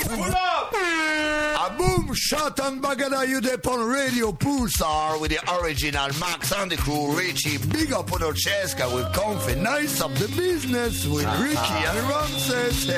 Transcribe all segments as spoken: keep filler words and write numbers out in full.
Pull up! A boom shot and bagada you dip on Radio Pulsar with the original Max and the crew Richie. Big up on our chest with comfy nice of the business with Ricky and Ramses.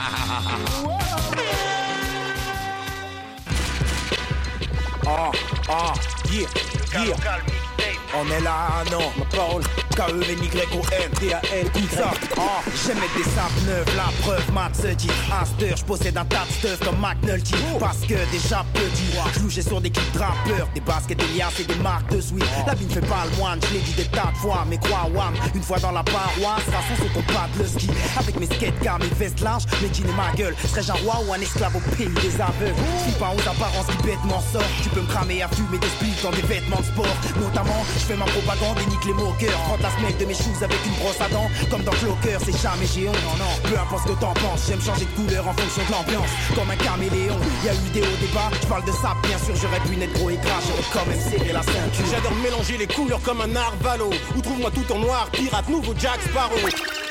Ah, ah, yeah, yeah. On est là, non, ma parole. K E N Y O N T A N tout ça. Ah, j'aime mettre des sapes neuves, la preuve, Matt se dit. Aster, j'possède un tas de stuff comme McNulty. Parce que déjà petit, j'louchais sur des clips rappeurs, des baskets, des liasses et des marques de sweat. La vie ne fait pas le moine, je l'ai dit des tas de fois, mais quoi, wam, une fois dans la paroisse, façon sur ton pas de le ski. Avec mes skatecards, mes vestes larges, mes jeans et ma gueule. Serais-je un roi ou un esclave au pays des aveugles? Je suis pas aux apparences qui bêtement sortent. Tu peux me cramer à fumer des splits dans des vêtements de sport. Notamment, je fais ma propagande et nique les moqueurs. Prends la semelle de mes shoes avec une brosse à dents. Comme dans Clocker, c'est jamais géant. Non, non, peu importe ce que t'en penses. J'aime changer de couleur en fonction de l'ambiance. Comme un caméléon, y'a eu des hauts débats. Je parle de ça, bien sûr, j'aurais pu naître gros et gras. J'aurais quand même serré la ceinture. J'adore mélanger les couleurs comme un narvalo. Ou trouve-moi tout en noir, pirate, nouveau Jack Sparrow.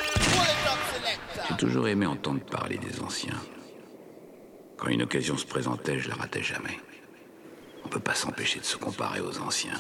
J'ai toujours aimé entendre parler des anciens. Quand une occasion se présentait, je la ratais jamais. On peut pas s'empêcher de se comparer aux anciens.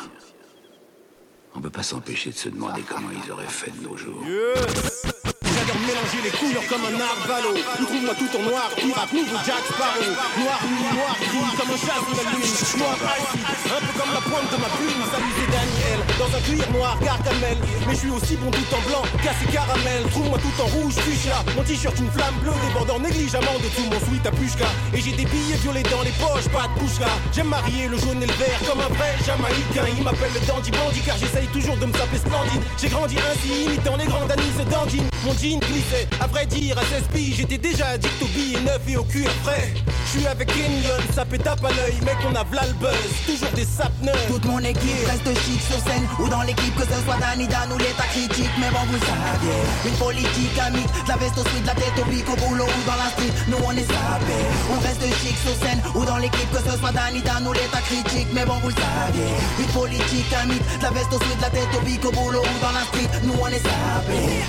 On peut pas s'empêcher de se demander comment ils auraient fait de nos jours. Yes. J'adore mélanger les couleurs comme un narvalo. Ou trouve-moi tout en noir, pirate, nouveau Jack Sparrow. Noir, nuit, noir, gris, comme un chat sous la lune. Noir, icy, un peu comme la pointe de ma plume. Salut, c'est Daniel, dans un cuir noir, Gargamel. Mais je suis aussi bon tout en blanc, cassé caramel. Trouve-moi tout en rouge, fuchsia. Mon t-shirt, une flamme bleue, débordant négligemment de tout mon sweat à pushka. Et j'ai des billets violets dans les poches, pas de pushka. J'aime marier le jaune et le vert comme un vrai jamaïcain. Il m'appelle le dandy bandit car j'essaye toujours de me taper splendide. J'ai grandi ainsi, imitant les grandes anis de dandine. Mon jean glissait, à vrai dire, à seize piges. J'étais déjà addict aux billets neufs et au cuir frais. Je suis avec Kenyon, ça fait tape à l'œil. Mec, on a v'là le buzz, toujours des sapes neufs. Toute mon équipe reste chic sur scène. Ou dans l'équipe, que ce soit Danny Dan ou l'état critique. Mais bon, vous savez, une politique amique. De la veste au sweat, de la tête au pic, au boulot ou dans la street. Nous on est sapés. On reste chic sur scène. Ou dans l'équipe, que ce soit Danny Dan ou l'état critique. Mais bon, vous savez, une politique amique. De la veste au sweat, de la tête au pic, au boulot ou dans la street. Nous on est sapés.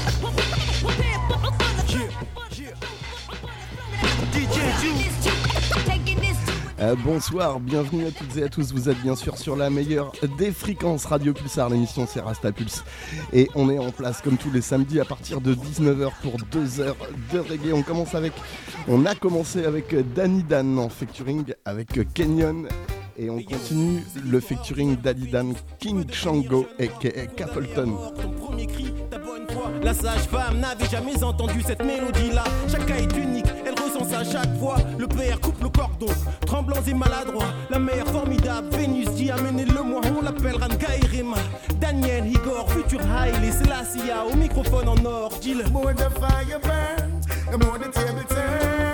Euh, bonsoir, bienvenue à toutes et à tous, vous êtes bien sûr sur la meilleure des fréquences Radio Pulsar, l'émission c'est Rasta Pulse. Et on est en place comme tous les samedis à partir de dix-neuf heures pour deux heures de reggae. On commence avec, on a commencé avec Danny Dan en featuring avec Kenyon. Et on continue le featuring Daddy Dan, King Shango aka Capleton. La sage-femme n'avait jamais entendu cette mélodie-là. Chaque cas est unique, elle ressent ça à chaque fois. Le père coupe le cordon, tremblants et maladroits. La mère formidable, Vénus dit amenez-le-moi. On l'appelle Ranga et Rema. Daniel, Igor, futur Haile, Selassie au microphone en or. Dis-le. The more the fire burns, the more the table turns.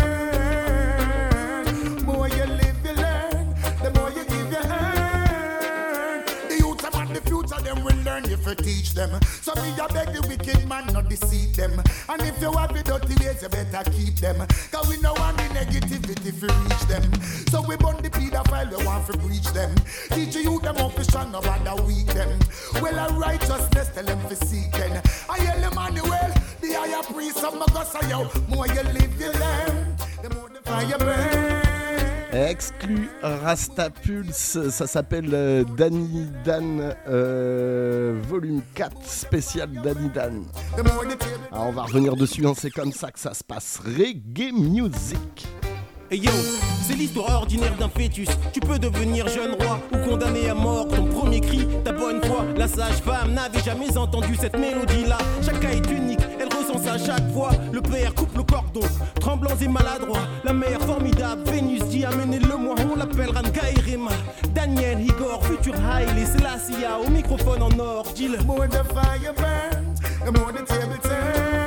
More you live, you learn. The more you give, you earn. The youth and the future, them will learn if you teach them. So me a beg the wicked man not deceive them. And if you have the dirty ways, you better keep them. Cause we know want the negativity if you reach them. So we burn the pedophile, we want to breach them. Teach you them up to strong, no rather weak them. Well, a righteousness, tell them to seek them. I hear Emmanuel, the higher priest of my God, say yo, more you live, you learn. The more the fire burns. Exclu Rasta Pulse, ça s'appelle euh, Danny Dan euh, volume quatre spécial Danny Dan. Alors on va revenir dessus, hein, c'est comme ça que ça se passe. Reggae Music. Hey yo, c'est l'histoire ordinaire d'un fœtus. Tu peux devenir jeune roi ou condamné à mort. Ton premier cri, ta bonne foi. La sage-femme n'avait jamais entendu cette mélodie-là. Chaque cas est unique, elle ressent ça à chaque fois. Le père coupe le cordon, tremblants et maladroits. La mère formidable, Vénus dit amenez-le-moi. On l'appelle Ranga et Rema. Daniel, Igor, futur Haile, Selassie au microphone en or. Dis-le. The more the fire burns, the more the table turns.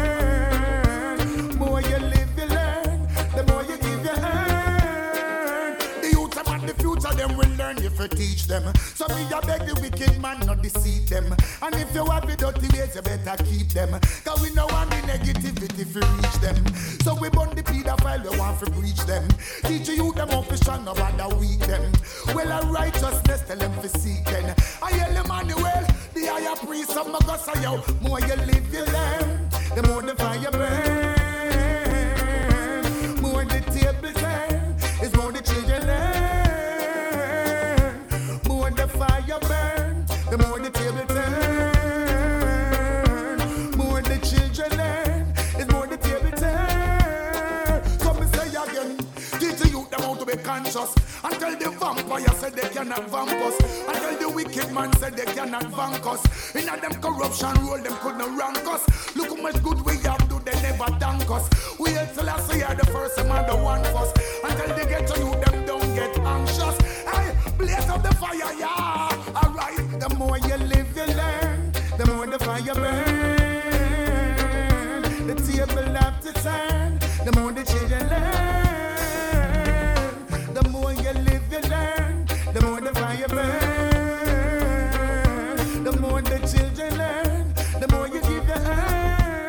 More you live, you learn. The more you give, you earn. The youth and the future, them will learn if you teach them. So me a beg the wicked man not deceive them. And if you have the dirty ways, you better keep them. Cause we know want the negativity if you reach them. So we burn the pedophile, we want to breach them. Teach you them up to strong, no rather weak them. Well, a righteousness, tell them to seek them. I hear Emmanuel, the higher priest of my God, say yo, more you live, you learn. The more the fire burns, more the table conscious. Until the vampire said they cannot vamp us. Until the wicked man said they cannot vank us. In a them corruption role, them couldn't rank us. Look how much good we have do, they never thank us. We hate till I say the first and the one first. Until they get to you, them don't get anxious. Hey, blaze up the fire, yeah. Alright, the more you live, you learn. The more the fire burn. The table have to turn. The more the children learn. The more you live, you learn. The more the fire burn. The more the children learn. The more you give, you earn.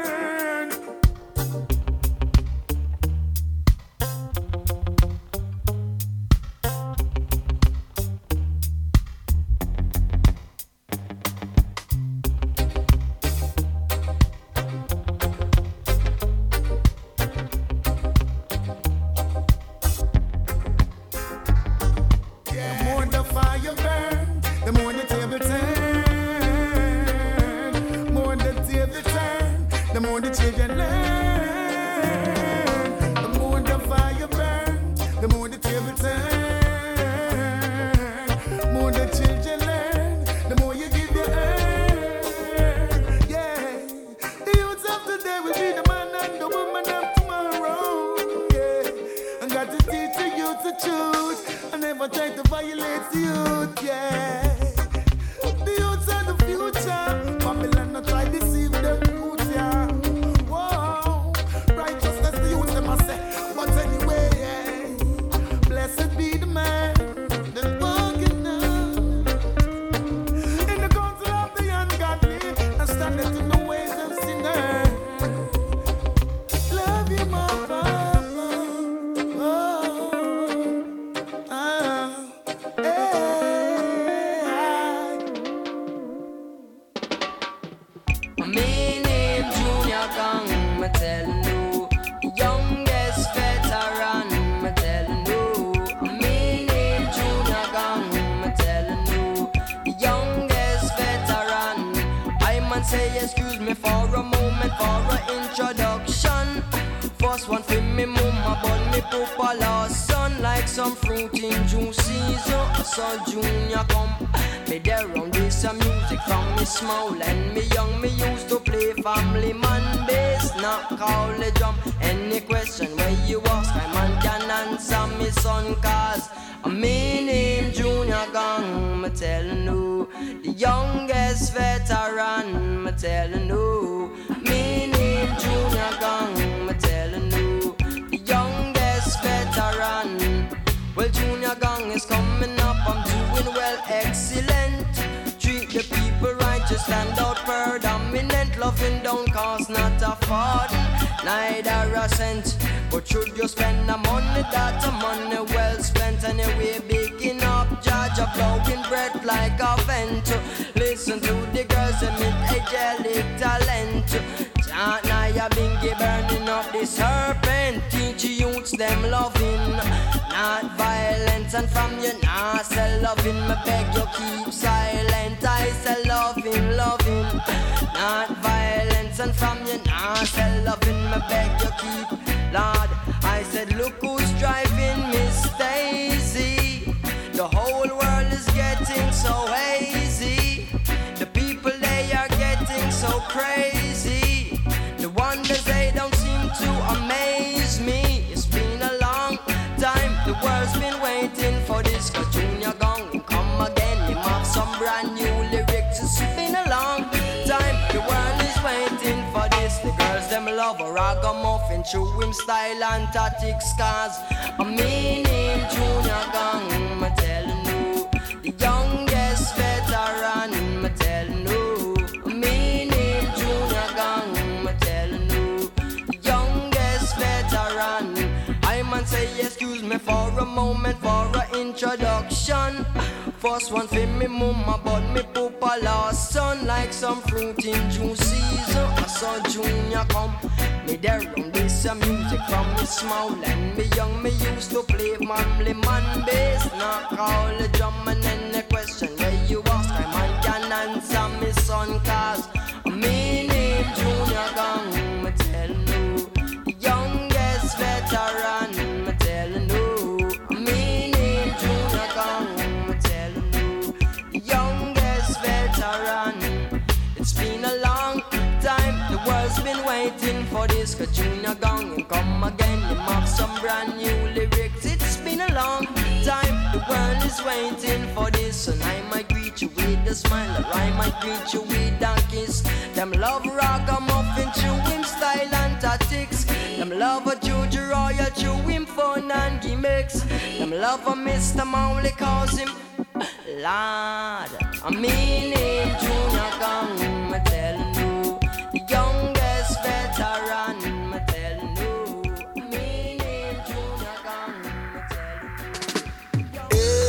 Show him style and tactics, cause I mean him Junior Gang, me tellin' you. The youngest veteran, me tellin' you. I mean him Junior Gang, me tellin' you. The youngest veteran. I man say excuse me for a moment, for a introduction. First one for me mama, but me papa last son. Like some fruit in June season, I saw Junior come. Me there on this uh, music from me small and me young. Me used to play manly man bass, knock all the drum and then the question where you ask, I man can answer me son, cause me name Junior Gang. Me tellin' you, youngest veteran. Me tellin' you, me Cheska Junior Gang and come again. You have some brand new lyrics. It's been a long time. The world is waiting for this, and I might greet you with a smile, or I might greet you with a kiss. Them love ragamuffin, chewing style and tactics. Them love a Juju Royal, chewing fun and gimmicks. Them love a Mister Mowley, cause him Lord. I mean him Junior Gang, me tellin' you, the youngest veteran, me tellin' you. I mean him Junior Gang, me tellin' you.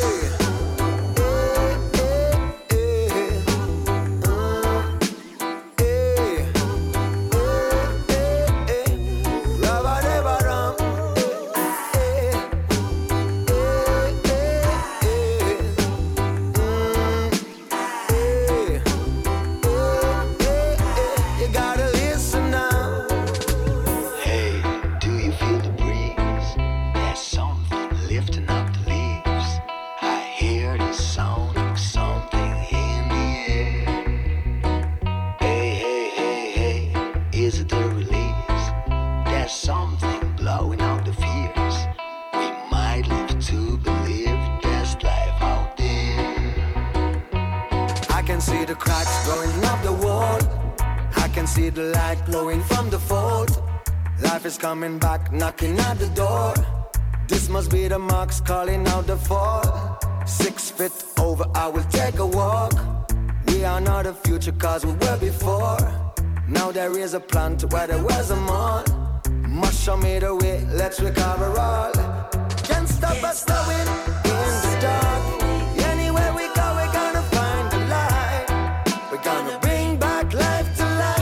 The light glowing from the fort. Life is coming back, knocking at the door. This must be the marks calling out the fall. Six feet over, I will take a walk. We are not the future cause we were before. Now there is a plant where there was a mall. Must show me the way, let's recover all. Can't stop us going in the dark. Anywhere we go, we're gonna find the light. We're gonna bring back life to life.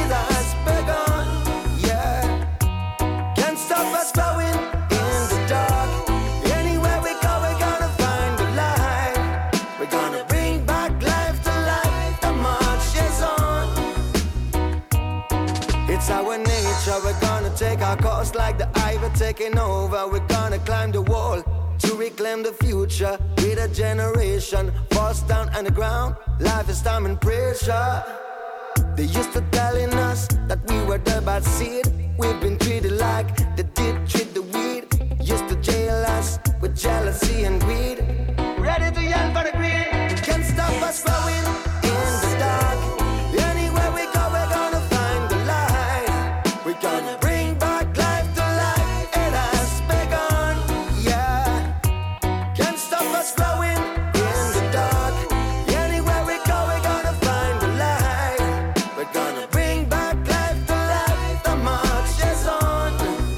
We're gonna take our course like the Ivor taking over. We're gonna climb the wall to reclaim the future. With a generation forced down on the ground. Life is time and pressure. They used to telling us that we were the bad seed. We've been treated like they did treat the weed. Used to jail us with jealousy and greed. Ready to yell for the green. Can't stop us flowing in the dark. Anywhere we go, we're gonna find the light. We're gonna bring back life to life. It has begun, yeah. Can't stop us flowing in the dark. Anywhere we go, we're gonna find the light. We're gonna bring back life to life. The march is on.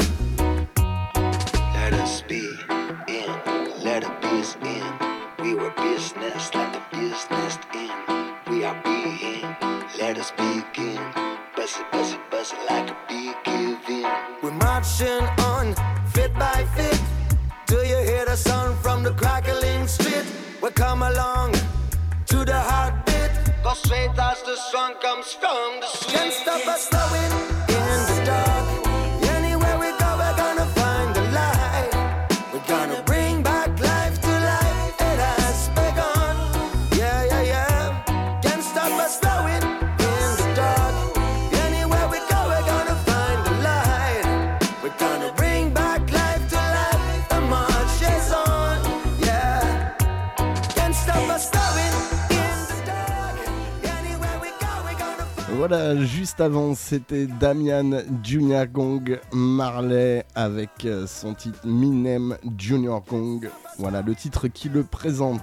Let us be in, let the biz in. We were business, let the business in. We are being, let us begin. Bust it, bust it, bust it like a bee giving. We're marching on, fit by fit. Do you hear the sound from the crackling street? We come along to the heartbeat. Go straight as the sun comes from the street. Can't stop us flowing in the dark. Anywhere we go, we're gonna find the light. We're gonna bring back life to life. It has begun, yeah, yeah, yeah. Can't stop us flowing in the dark. Anywhere we go, we're gonna find the light. We're gonna bring back life to life. The march is on, yeah. Can't stop us flowing in the dark. Anywhere we go, we're gonna find. Voilà, juste avant, c'était Damian Junior Gong Marley avec euh, son titre Minem Junior Gong. Voilà le titre qui le présente.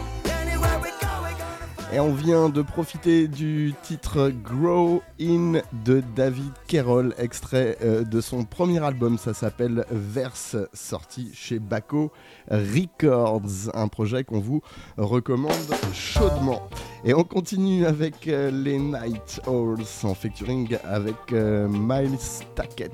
Et on vient de profiter du titre Grow In de David Kerrol, extrait euh, de son premier album, ça s'appelle Verse, sorti chez Baco Records, un projet qu'on vous recommande chaudement. Et on continue avec euh, les Night Owls en featuring avec euh, Miles Tackett.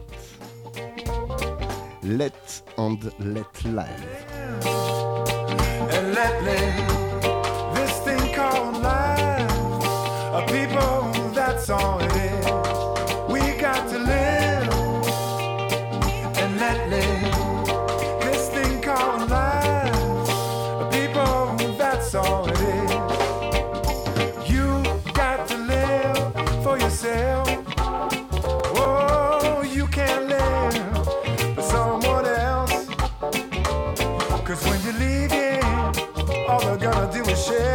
Let and Let Live. And let live this thing called life. A people, that's all it is. We got to live and let live this thing called life. A people, that's all it is. You got to live for yourself. Oh, you can't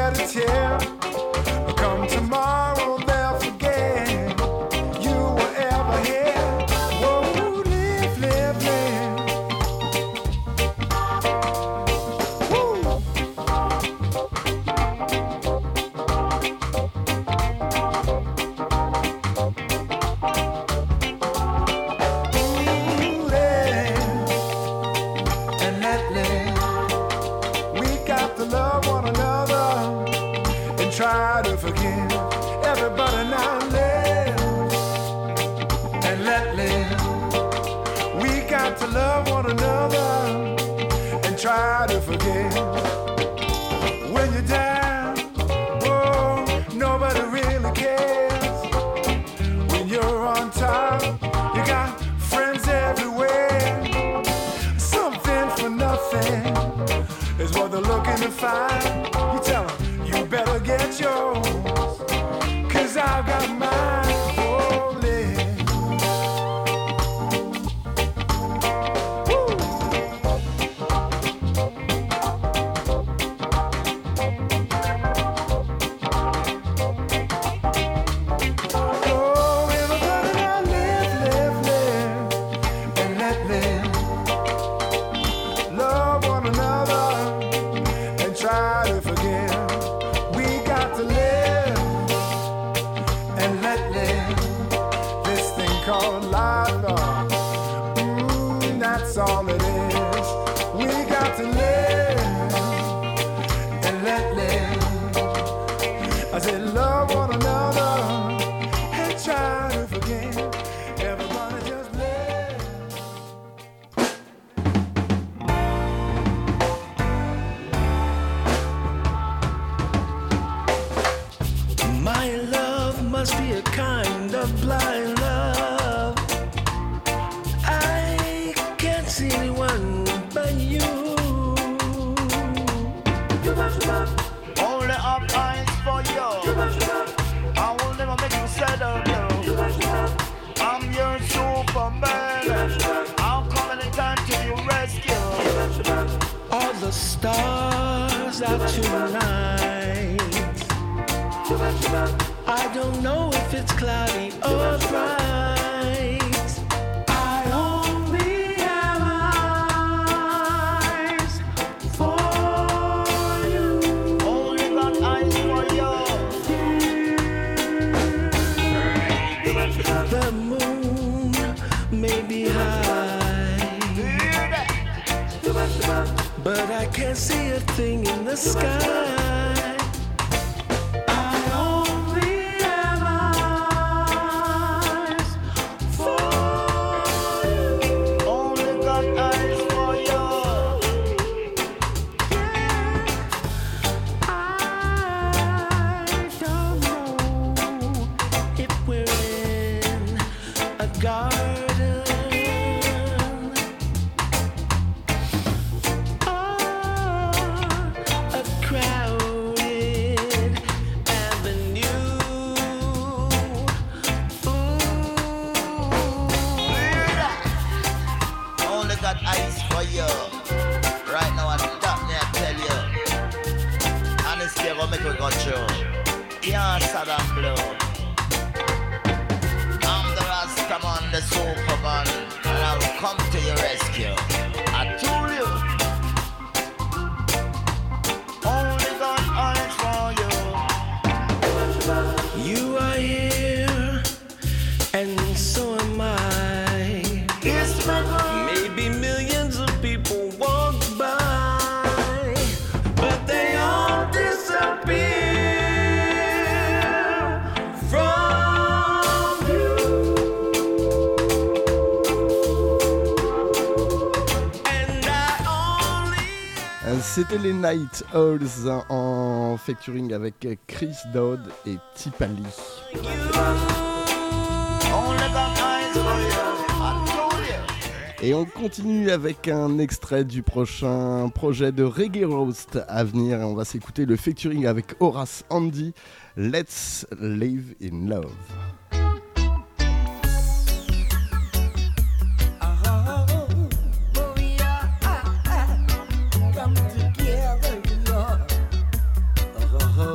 shed a tear. Come tomorrow, they'll forget you were ever here. Whoa, live, live, live. Woo. Ooh, live and let live. We got to love one another and try to forgive everybody. Now live and let live. We got to love one another and try to forgive. When you're down, oh, nobody really cares. When you're on top, you got friends everywhere. Something for nothing is what they're looking to find. You tell them, you better get yours, cause I've got mine. Oh, live. Woo. Oh, everybody now live, live, live, and let live. Love one another and try to forgive. We got to live and let live. This thing called life, oh, mm, that's all it is. We got to live and let live. I said love one another and try to forgive. Everybody just live. My love must be a kind of blind love. I can't see anyone but you. Only have eyes for you. I will never make you settle down. I'm your Superman. I'll come anytime to your rescue. All the stars out tonight. I don't know if it's cloudy or bright. I only have eyes for you. Only got eyes for you. The moon may be high, but I can't see a thing in the sky. C'était les Night Owls en featuring avec Chris Dodd et Tipali. Et on continue avec un extrait du prochain projet de Reggae Roast à venir. Et on va s'écouter le featuring avec Horace Andy, Let's Live in Love. Uh-huh.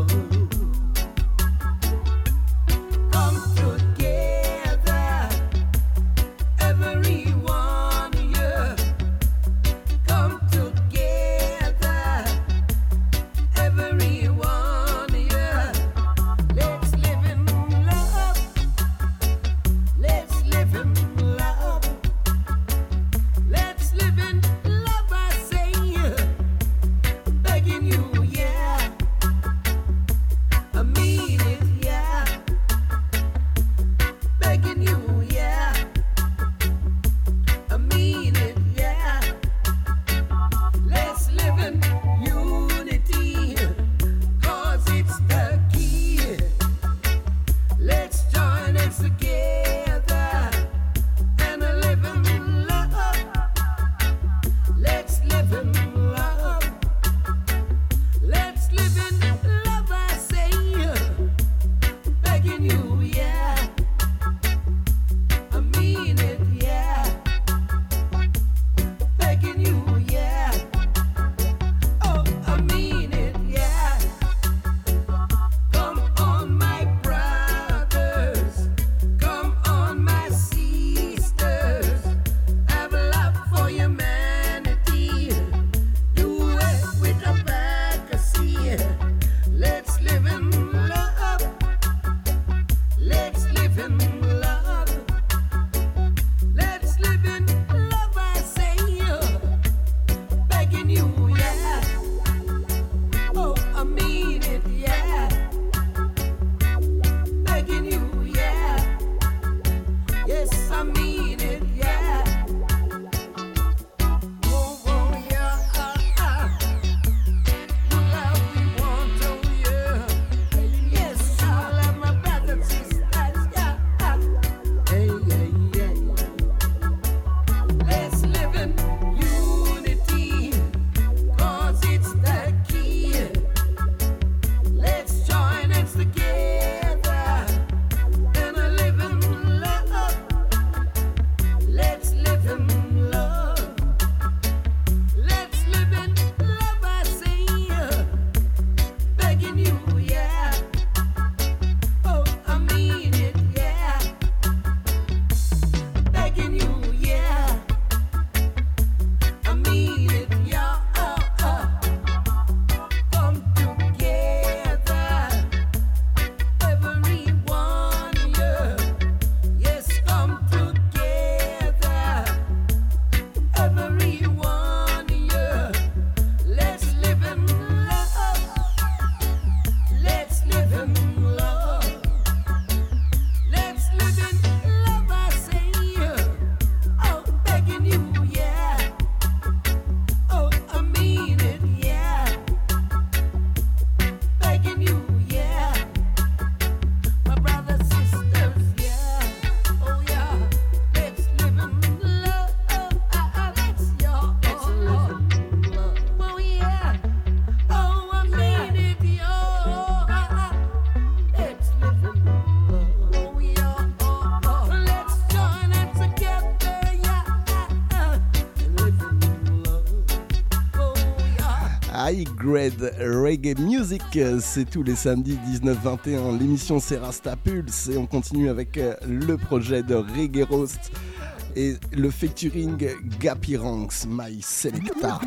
High Grade Reggae Music, c'est tous les samedis dix-neuf vingt et un. L'émission c'est Rasta Pulse et on continue avec le projet de Reggae Roast et le featuring Gappy Ranks, My Selecta.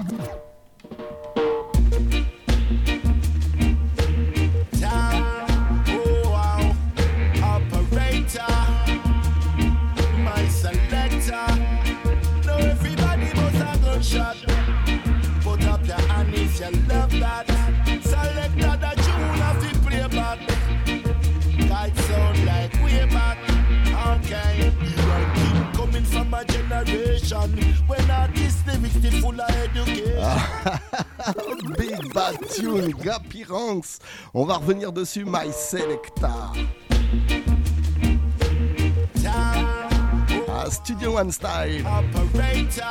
Shot. Put up your hand if you love that. Select that tune of the playback. Guide sound like way back. Okay, you are keep coming from a generation when artists lyrics still full of education. Big bad tune, Gappy Ranks. On va revenir dessus, My Selecta. Ah, Studio One Style. Operator.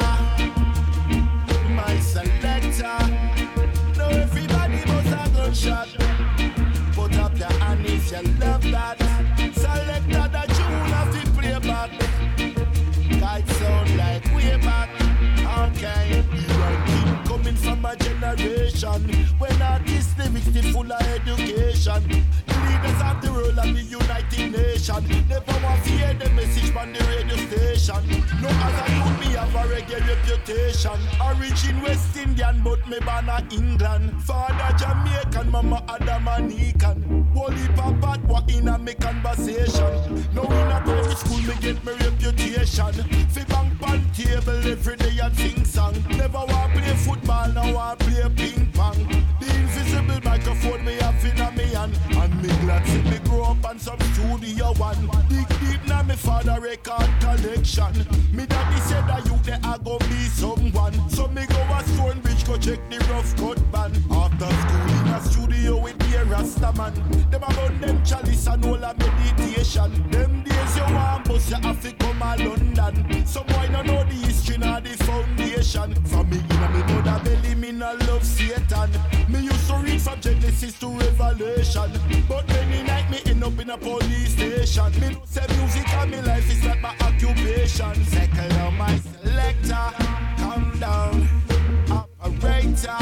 My selector. Now everybody must have gunshot. Put up your hand if you love that. Selector the tune of the playback. Guide sound like way back. Okay, you are keep coming from a generation when artists lyrics still full of education. The leaders of the world and the United Nations never want to hear the message from the radio station. No other youth me have a reggae reputation. Origin West Indian but me born a England. Father Jamaican, mama Adamanican. Holy papa what in a me conversation. Now in a primary school me get my reputation. Fi bang pan table every day and sing song. Never want play football, now want play ping pong. The invisible microphone me have in a me hand. And me glad see me grow up on some studio one. Dig deep now me father record collection. Me daddy said that you there I go be someone. So me go a Stonebridge go check the rough cut band. After school in a studio with the Rasta man. Them about them chalice and all a meditation. Them days you want bus you have to come a London. Some boy no know the history nor the foundation. From me in a me mother belly me no love Satan. Me used to read from Genesis to Revelation. But many night me end up in a police station. Me no say music and me life is not my occupation. Second on my selector, calm down, operator.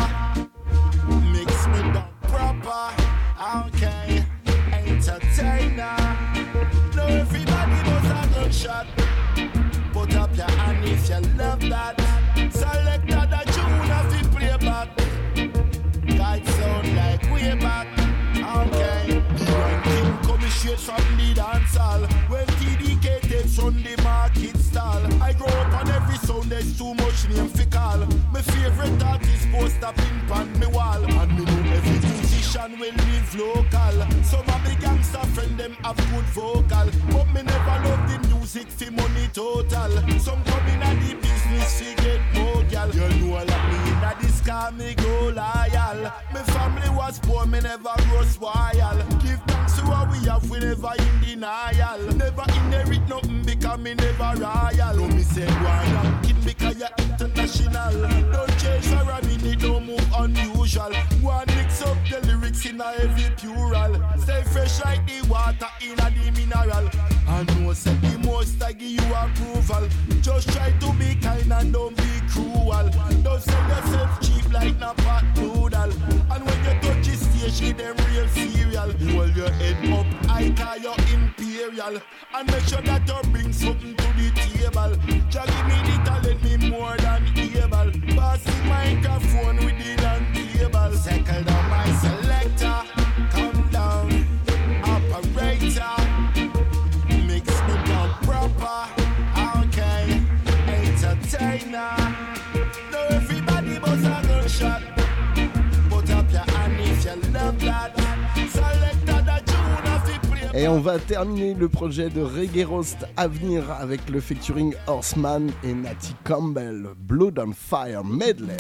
Mix me down proper, okay, entertainer. Now everybody must have gunshot. Put up your hand if you love that. Select that tune of the playback. Guide sound like way back. Okay, the ranking coming straight from the dance hall. When T D K takes on the market stall. I grow up on every sound, there's too much name fi call. My favorite artist post up in pan me wall. And me know every musician will live local. Some of the gangster friend them have good vocal. But me never love the music fi money total. Some come in at the business fi get more gal. You know like me in a this car me go loyal. My family was poor, me never grow spoil. Give thanks to what we have, we never in denial. Never inherit nothing because me never royal. No me say one kid because you're international. Don't change for a minute, don't move unusual. One mix up the lyrics in a heavy plural. Stay fresh like the water in a the mineral. And no say the most I give you approval. Just try to be kind and don't be cruel. Don't sell yourself cheap like na pot noodle. And when you touch the stage, give them real cereal. Hold your head up, I call you imperial. And make sure that you bring something to the table. Just give me the talent, me more than able. Pass the microphone with the long table. Circle down my selector, come down, operator. Mix me down proper, okay, entertainer. Now everybody must have a shot. Put up your hand if you love that. Selector the tune of the play. Et on va terminer le projet de Reggae Roast à venir avec le featuring Horseman et Natty Campbell, Blood on Fire Medley.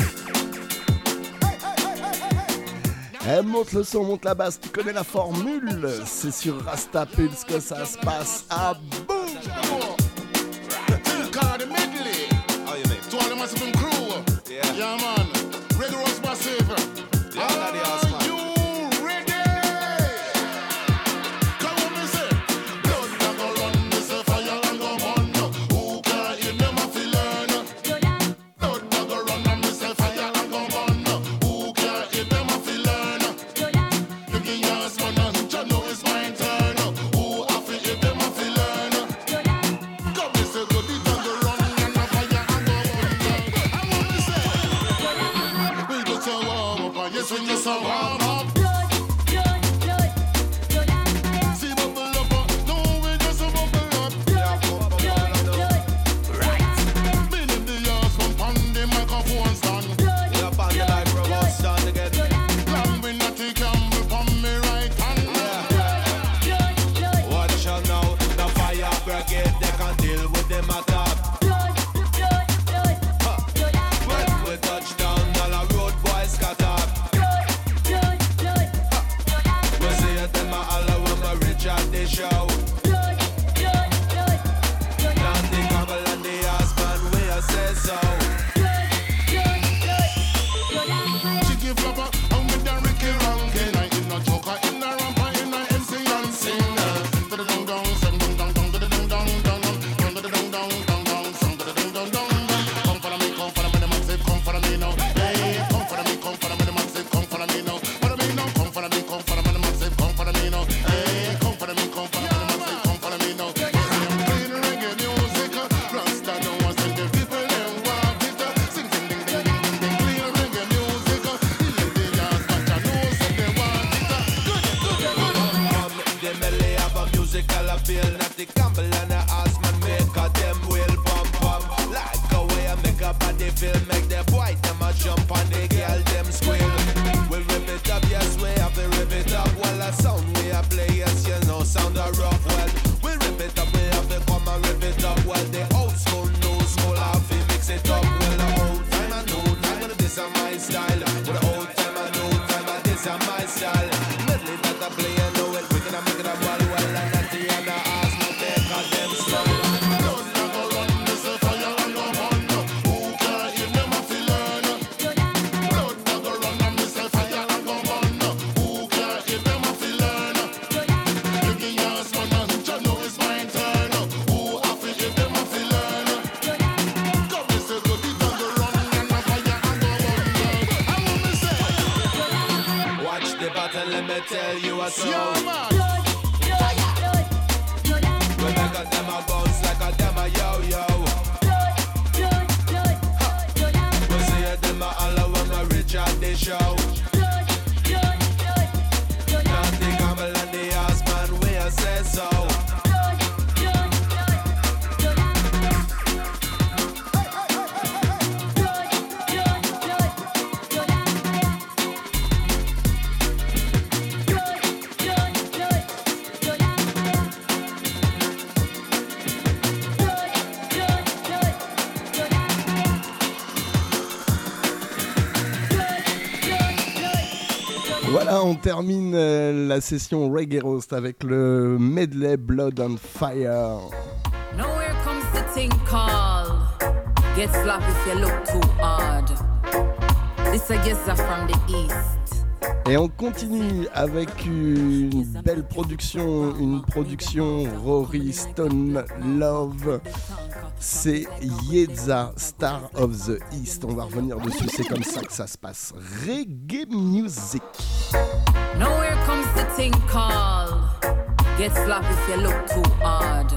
Elle monte le son, monte la basse, tu connais la formule. C'est sur Rasta Pulse que ça se passe. Ah boum! Yeah, man. Reggae Roast massive. Yeah, Daddy Horseman. Are you ready? Come on, me say. Blood and go run, me say fire and go burn. Who can't hear them have to learn? Blood and go run, me say fire and go burn. Who can't hear this when you so warm up. Voilà, on termine euh, la session Reggae Roast avec le medley Blood on Fire. Now here comes the thing called Get Slap if you look too hard. This I guess are from the east. Et on continue avec une belle production, une production Rory Stone Love. C'est Yeza, Star of the East. On va revenir dessus, c'est comme ça que ça se passe. Reggae music. Now here comes the thing called Get Slap if you look too hard.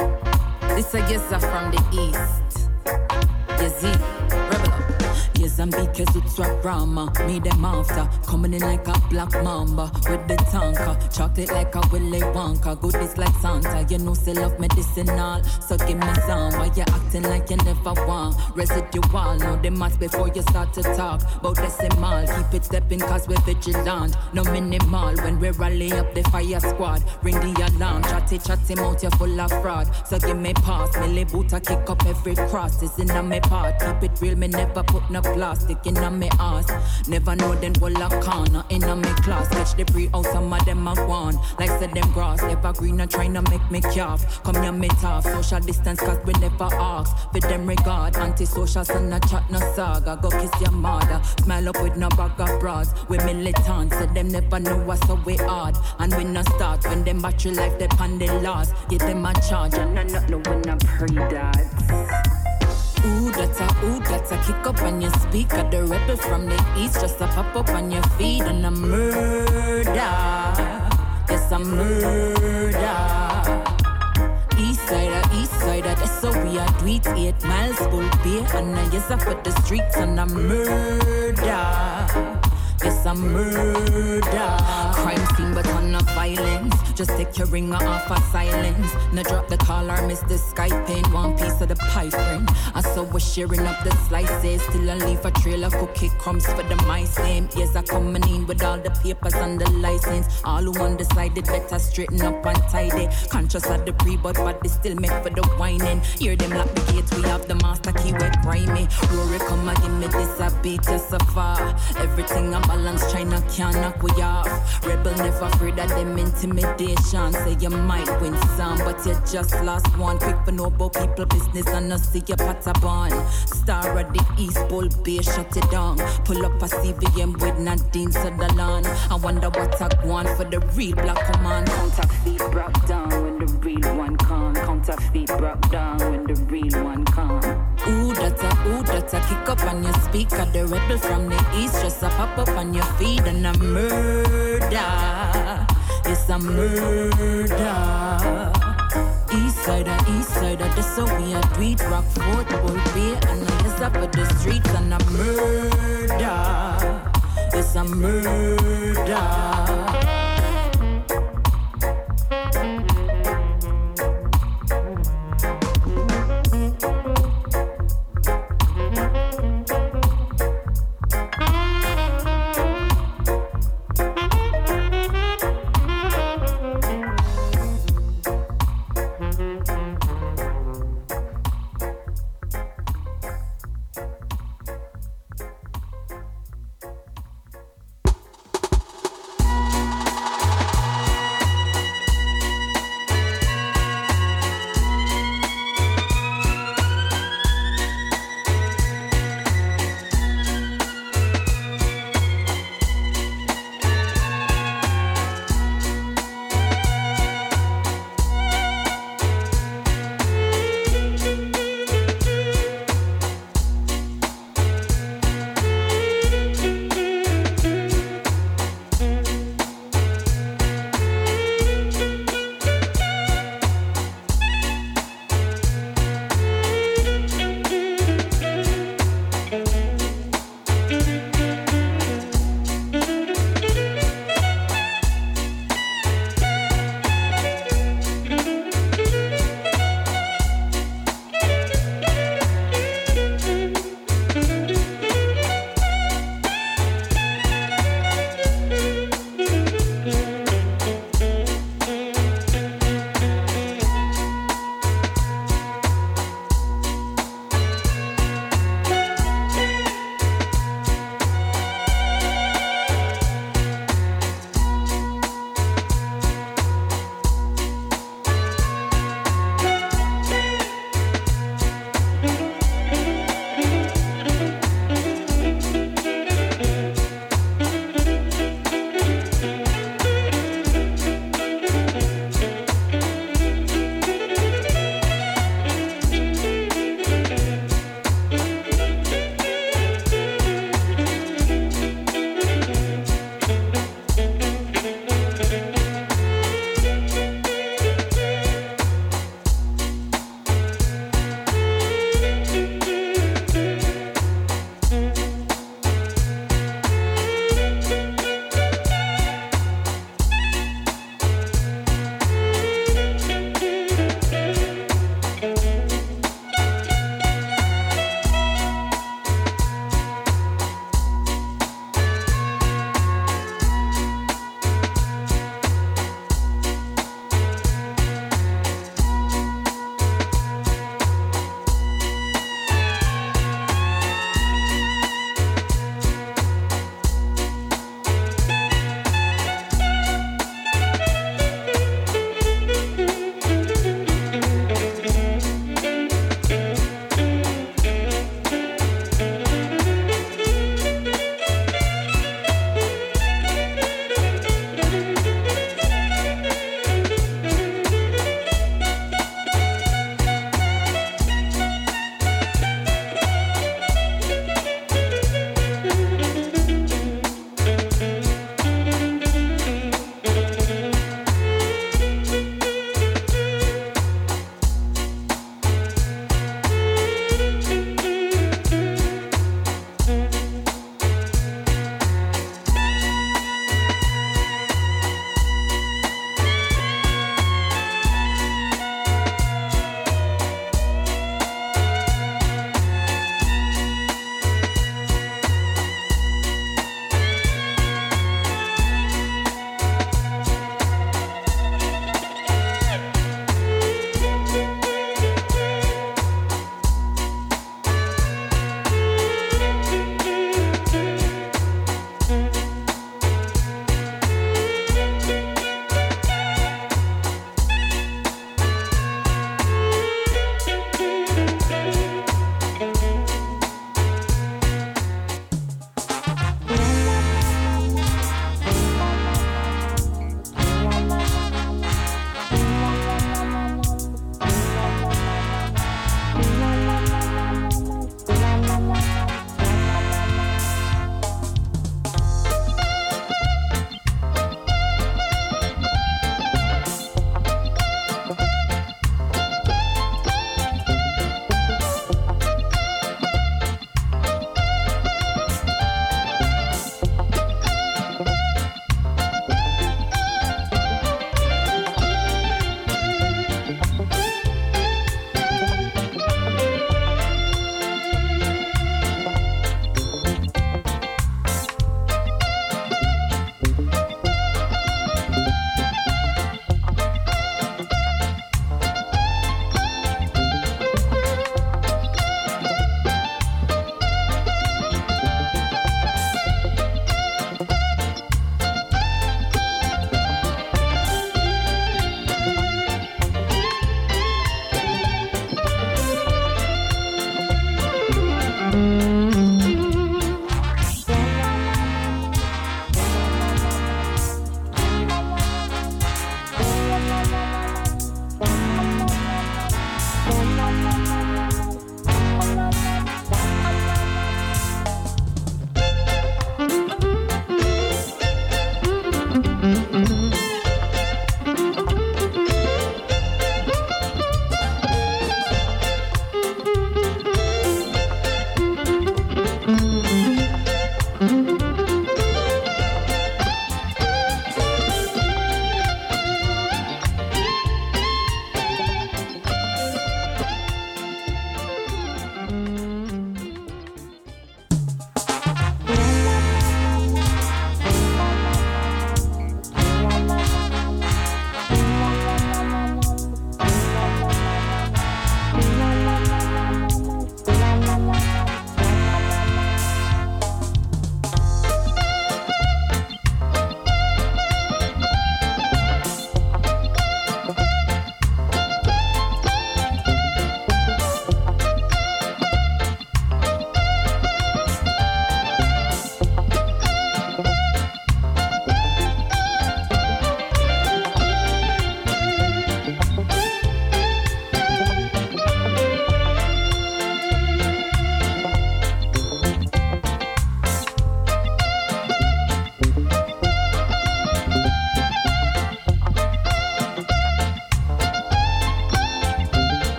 This I guess are from the east. Yezi, rebel up. Yes, I'm big as it's a drama. Me them after, coming in like a black mamba with the tanker. Chocolate like a Willy Wonka, goodies like Santa. You know, say love medicinal, so give me some. Why you acting like you never want? Residual, know the maths before you start to talk about decimal. Keep it stepping cause we're vigilant. No minimal, when we rally up the fire squad. Ring the alarm, chatty chatty mouth, you're full of fraud. So give me pass, Millie Boota kick up every cross. It's in a me part, keep it real, me never put no plastic in a me ass. Never know them will a corner in a me class. Catch the pre out, some of them have won. Like said them grass, evergreen and trying to make me calf. Come here me tough, social distance cause we never ask. For them regard, anti-social son a chat no saga. Go kiss your mother, smile up with no bag of bras. We militant, so them never know what's so we hard. And we no start when them battery life depend the loss. Get them a charge and I not know when I pray that. Ooh, that's a, ooh, that's a kick up on your speaker. The rebel from the east just a pop up on your feet. And a murder, yes a murder. East side, east side, that's so we are tweet. Eight miles full beer and I yes I for the streets. And a murder, It's a murder. Crime scene but on no violence. Just take your ringer off of silence. Now drop the call or miss the Skype in. One piece of the pie friend. I saw we're sharing up the slices. Still I leave a trail of cookie crumbs for the mice. Same years I coming in with all the papers and the license. All who undecided better straighten up and tidy. Conscious of the pre but body still make for the whining. Hear them lock the gates. We have the master key with grimy. Rory come and give me this a beat just so far. Everything I balance China can't knock we off. Rebel never afraid of them intimidation. Say you might win some but you just lost one. Quick for no about people business and not see your patabon. Star of the East Bull Bay shut it down. Pull up a C V M with Nadine Sutherland. I wonder what I want for the real black command. Counterfeit broke down when the real one come. Counterfeit broke down when the real one come. Ooh, that's a, ooh, that's a kick up on your speaker. The rebel from the east just a pop up on your feet. And a murder, it's a murder. East side, east side, that's how we are do it. Rock Fort, Bull Bay, and it's up at the streets. And a murder, it's a murder.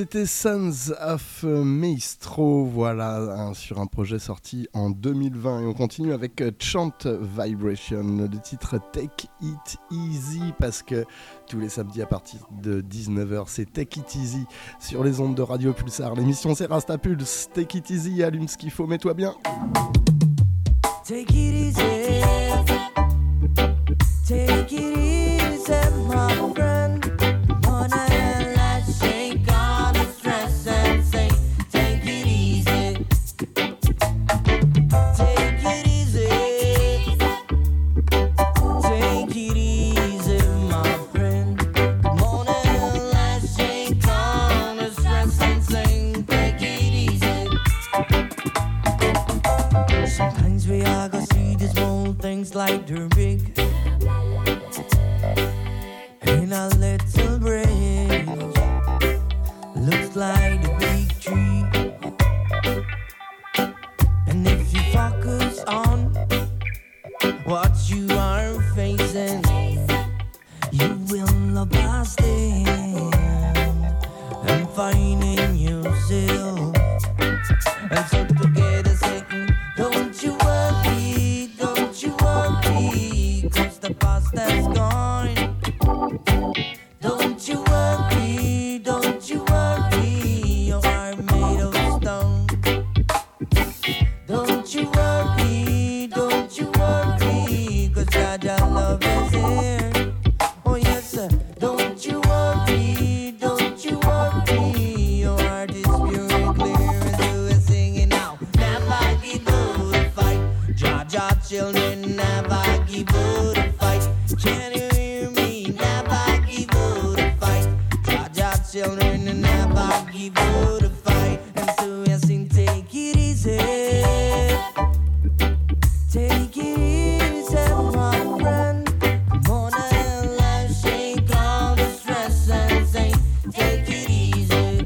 c'était Sons of Maestro, voilà, hein, sur un projet sorti en deux mille vingt. Et on continue avec Chant Vibration, le titre Take It Easy, parce que tous les samedis à partir de dix-neuf heures, c'est Take It Easy sur les ondes de Radio Pulsar. L'émission c'est Rasta Pulse. Take It Easy, allume ce qu'il faut, mets-toi bien. Take it easy, take it easy, my friend. Like they're big in a little brain, looks like a big tree. And if you focus on what you are facing, you will pass them and finding yourself. And so together saying, don't you worry, don't you worry, cause the past has gone. Don't you worry, don't you worry, you are made of stone. Don't you worry, don't you worry, cause God, your love is here. Oh yes sir, don't you worry, don't you worry, your heart is pure and clear. And so we're singing now, never give up the fight. Jah children, never give up the fight. Can you hear me? Never give up the fight. Jah children, never give up the fight. And so we sing, take it easy, take it easy, my friend. Come on and let's shake all the stress and say, take it easy,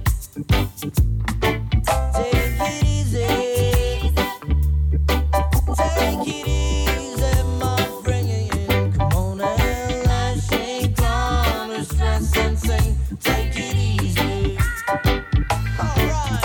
take it easy. Take it easy, my friend. Come on and let's shake all the stress and sing. Take it easy. Alright.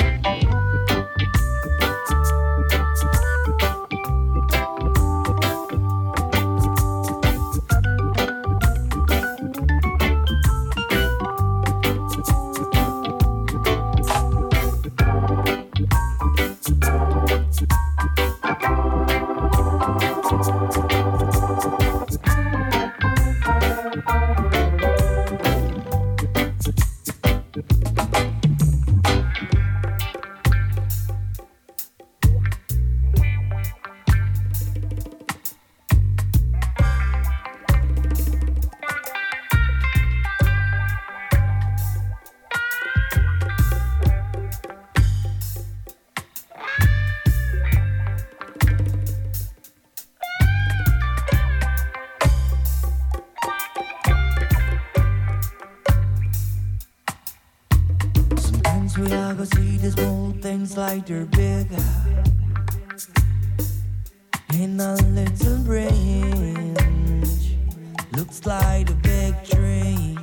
Sometimes we all go see the small things like they're big in a little branch, looks like a big tree.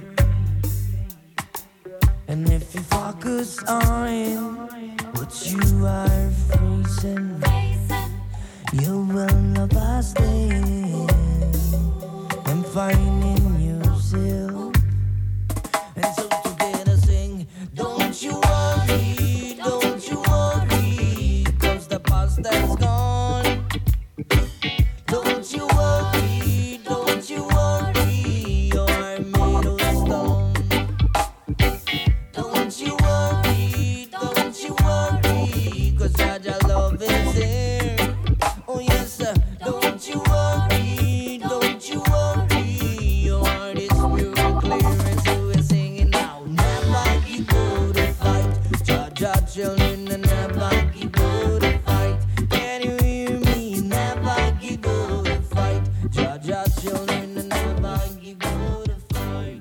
And if you focus on what you are facing, you will not pass them and finding yourself. And so together sing, don't you worry, don't you worry, cause the past has gone. Don't you worry, don't you worry, you're made of stone. Don't you worry, don't you worry, cause your love is here. Oh yes sir, don't you worry, don't you worry, your heart is pure and clear. And so we're singing now, never give up the fight. Jah Jah children, never give up the fight. Can you hear me? Never give up the fight. Jah Jah children, never give up the fight.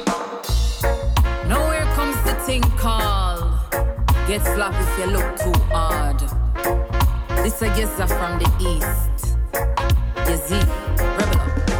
Now here comes the thing called get slapped if you look too hard. This I guess are from the east. Yazzie, rebel up. Yes,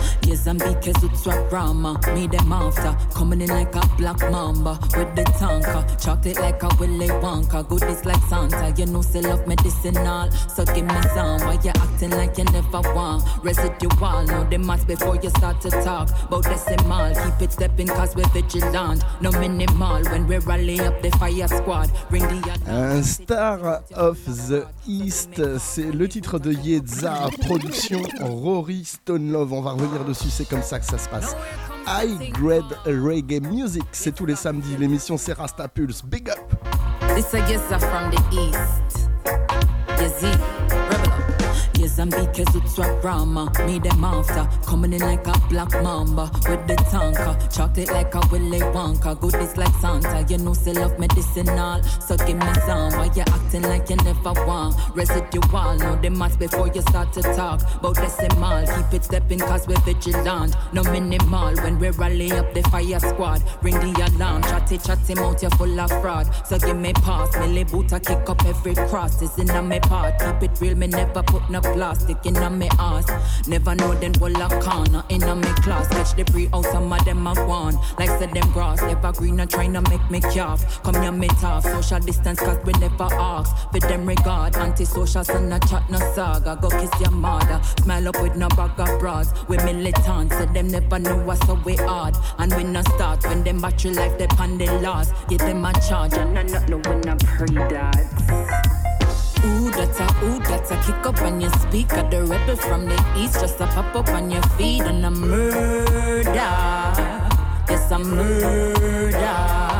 Mozambique, Rama, me them after. Coming in like a black mamba with the tanker. Chocolate like a Willy Wonka, goodies like Santa. You know, say love medicinal, so give me some. Why you acting like you never want? Residual, know the maths before you start to talk. About decimal, keep it stepping cause we're vigilant. No minimal, when we rally up the fire squad. Ring the Un Star of the East, c'est le titre de Yedza, production Rory Stone Love. On va revenir dessus, c'est comme ça que ça se passe. High Grade Reggae Music, c'est tous les samedis. L'émission c'est Rasta Pulse. Big up! This I guess from the east. Yazzie, rebel. Mozambique, Rama, me them after. Coming in like a black mamba with the tanker. Chocolate like a Willy Wonka, goodies like Santa. You know, say love medicinal, so give me some. Why you acting like you never want? Residual, know the maths before you start to talk. About decimal, keep it stepping cause we're vigilant. No minimal, when we rally up the fire squad. Ring the alarm, chatty chatty mouth, you're full of fraud. So give me pass, me lay boot, I kick up every cross. It's in a me part, keep it real, me never put no plastic in a me ass. Never know them will a corner in a me class. Catch the pre out, some of them have won. Like said them grass, never green and trying to make me calf. Come here me tough, social distance cause we never ask. For them regard, anti-social son no chat no saga. Go kiss your mother, smile up with no bag of bras. We militant, so them never know what's so we hard. And we no start when them battery life they pan the loss. Get them a charge and I not know when I pray that. Ooh, that's a, ooh, that's a kick up on your speaker. The rebel from the east just a pop up on your feet. And a murder, yes a murder.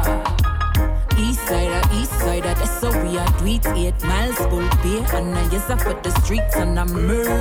East side, east side, that's so we are do it. Eight miles full beer. And I yes I put the streets and a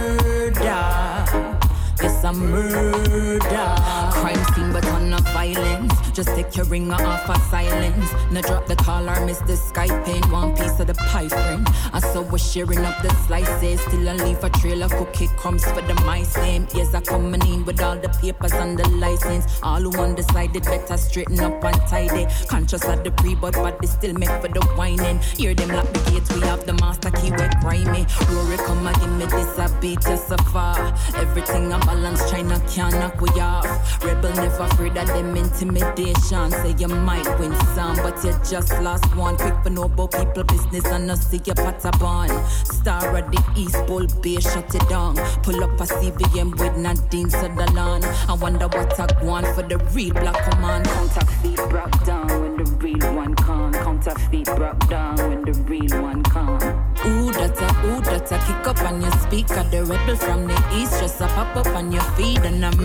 murder. It's a murder. Crime scene but on no violence. Just take your ringer off of silence. Now drop the call or miss the Skype in. One piece of the pie frame. I saw we're sharing up the slices. Still I leave a trail of cookie crumbs for the mice name. Yes, I coming in with all the papers and the license. All who undecided better straighten up and tidy. Conscious of the pre but body still make for the whining. Hear them lock the gates. We have the master key with grimy. Rory come and give me this a beat just so far. Everything I'm balance, China can't knock we off. Rebel never afraid of them intimidation. Say you might win some, but you just lost one. Quick for know about people business and not see your patabon. Star of the East Bull Bay, shut it down. Pull up a C V M with Nadine Sutherland. I wonder what I want for the real black command. Counterfeit broke down when the real one come. Counterfeit broke down when the real one come. Ooh, that's a, ooh, that's a kick up on your speaker. The rebel from the east just a pop up on your feet and a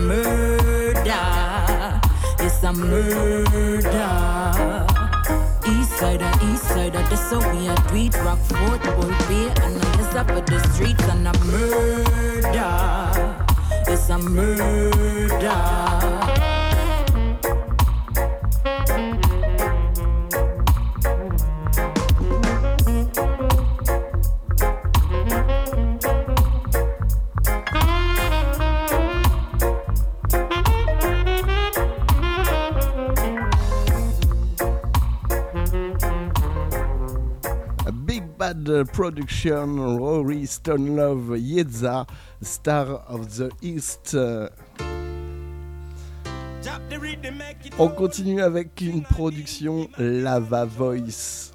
murder. It's a murder. East side, east side, that's how we are do it. Rock Fort, Bull Bay, and I just up at the streets and a murder. It's a murder. Bad Production, Rory Stone Love, Yedza, Star of the East. On continue avec une production Lava Voice.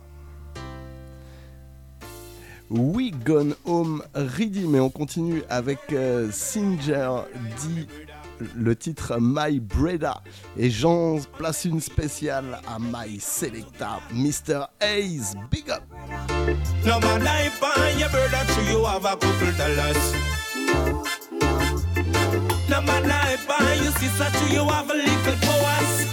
We Gone Home Ready, mais on continue avec euh, Singer D. Le titre My Breda. Et j'en place une spéciale à My Selecta, mister Hayes. Big up! No man I find your brother to you have a couple dollars. No man I find your sister to you have a little powers.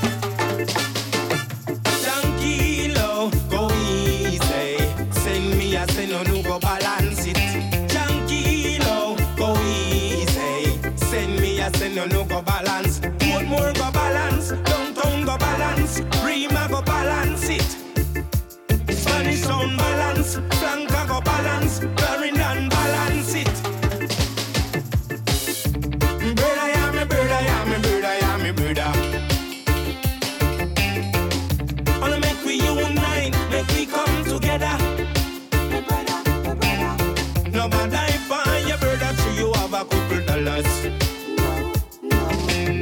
Tranquilo, go easy. Send me a send on you go balance it. Tranquilo, go easy. Send me a send on you go balance. Woodmore go balance. Downtown go balance. Rima go balance it. Spanish sound balance, Flanca go balance, Clarendon balance it. Brother, yeah, me brother, yeah, me brother, yeah, me brother. Wanna make we unite, make we come together. Me brother, me brother. No matter if I your brother to you have a couple dollars. No, no.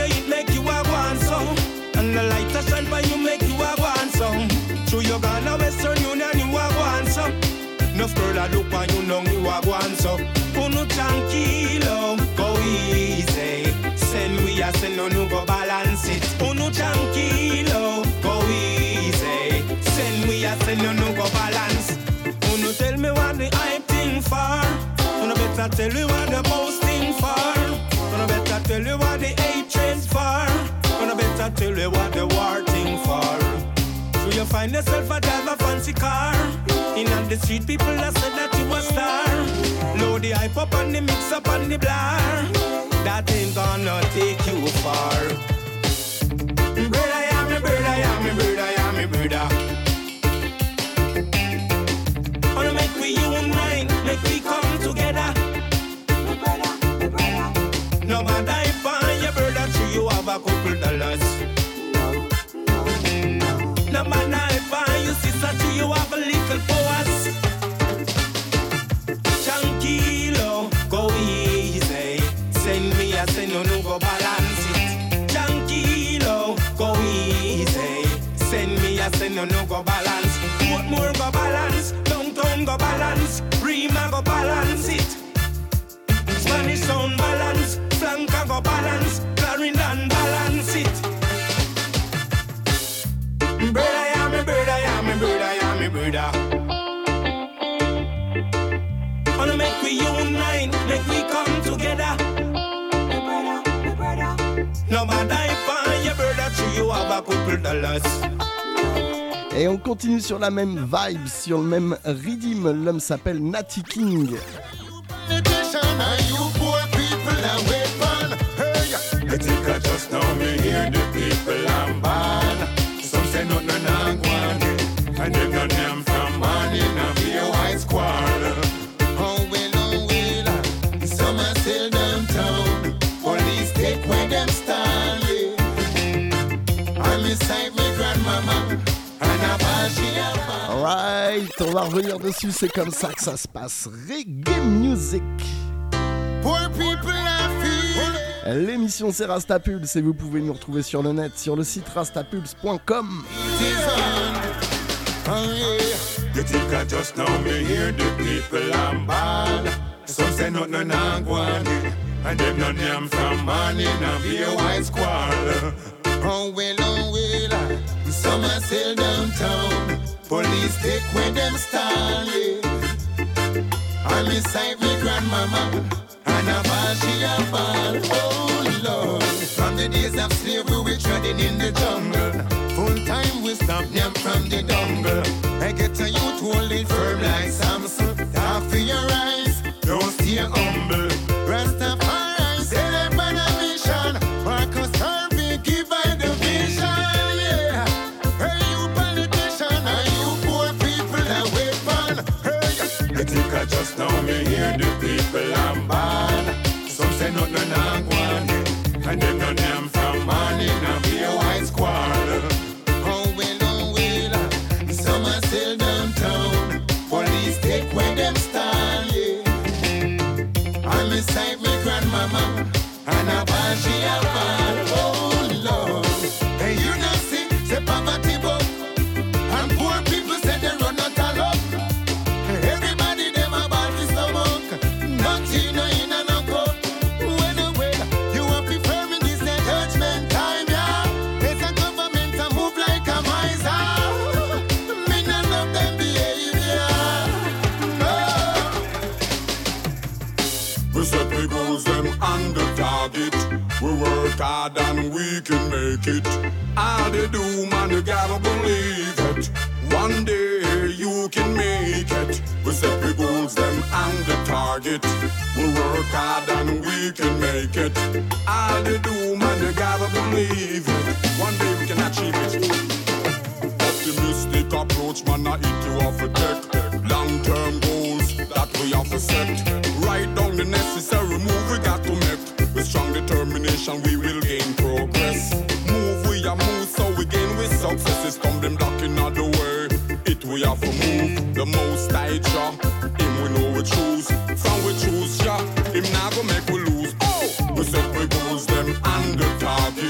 it make you a want some. And the light a shine for you make you a want some. Through your Ghana Western Union you a want some. Enough girl a look and you know you a want some. Uno tranquilo, go easy. Send we a send no no go balance it. Uno tranquilo, go easy. Send we a send no no go balance. Uno tell me what the hype thing for. Uno better tell you what the boasting for. Uno better tell you what the hatred for. Uno better tell you what the war thing for. So you find yourself a drive a fancy car. In on the street people that said that you a star. Load the hype up and the mix up and the blare. That ain't gonna take you far. Bird I am a bird, I am a bird, I am a bird. Wanna make we unite, make we come together. No matter if I your bird that you have a couple dollars. No matter if I your sister to you have a little powers. Tranquilo, go easy. Send me a send no no go balance it. Tranquilo, go easy. Send me a send no no go balance. What more go balance? Downtown go balance. Rima go balance it. Spanish sound balance. Flanka go balance. Clarendon balance it. Bird I am a bird, I am a bird, I am a bird. Wanna make we unite, make we come together. No matter if I your bird that you have a couple dollars. Et on continue sur la même vibe, sur le même rhythm. L'homme s'appelle Natty King. They think I just know me hear the people I'm bad. Some say no no no one, and them no name from money now be a white squad. Oh well, oh well, some are still downtown. Police take where them stand. I'm inside my grandmama, and I buy she a. Alright, on va revenir dessus, c'est comme ça que ça se passe. Reggae Music. Poor people are feeling. L'émission c'est Rastapulse et vous pouvez nous retrouver sur le net, sur le site rastapulse point com. You think I just know me hear the people I'm bad. Some say no no no one, and them no name from money now be a white squall. Oh well, oh well, some are still downtown. Police take where them stand. I'm inside me grandmama, and I ball she a ball. Oh Lord, from the days of slavery we treading in the jungle. Full time we stop them from the jungle. I get a youth hold it firm like Samson. Talk for your eyes, don't stay humble. Rastafari say them on a mission. Marcus Garvey give by the vision. Yeah, hey you politician, and you poor people that wait fun. Hey, you think I just know me hear the people I'm bad. Some say no no no one, and them no name from money now be a white squall. Oh well, oh well, some are still downtown. Police take where them stand. Yeah. I'm inside me grandmama, and I buy she a ball. Oh Lord, hey you not see, say poverty book, and poor people say they run out of luck. Everybody them about this stomach, nothing no in and no cup. When oh well, you are preferring this the judgment time, yeah. It's a government to move like a miser. Me not love them behavior. No. We set the goals them on the target. We work hard and we can make it. All they do, man, you gotta believe it. One day you can make it. We set the goals them on the target. We work hard and we can make it. All they do, man, you gotta believe it. One day we can achieve it. Optimistic approach, man, I eat you off a deck. Long-term goals that we have to set. Write down the necessary move we got to make. With strong determination we will gain progress. Move we a move so we gain with successes. Come them blocking out the way. It we have to move. The most I draw. Him we know we choose. From we choose, yeah. Him now go make we lose. Oh! We set we goals them on the target.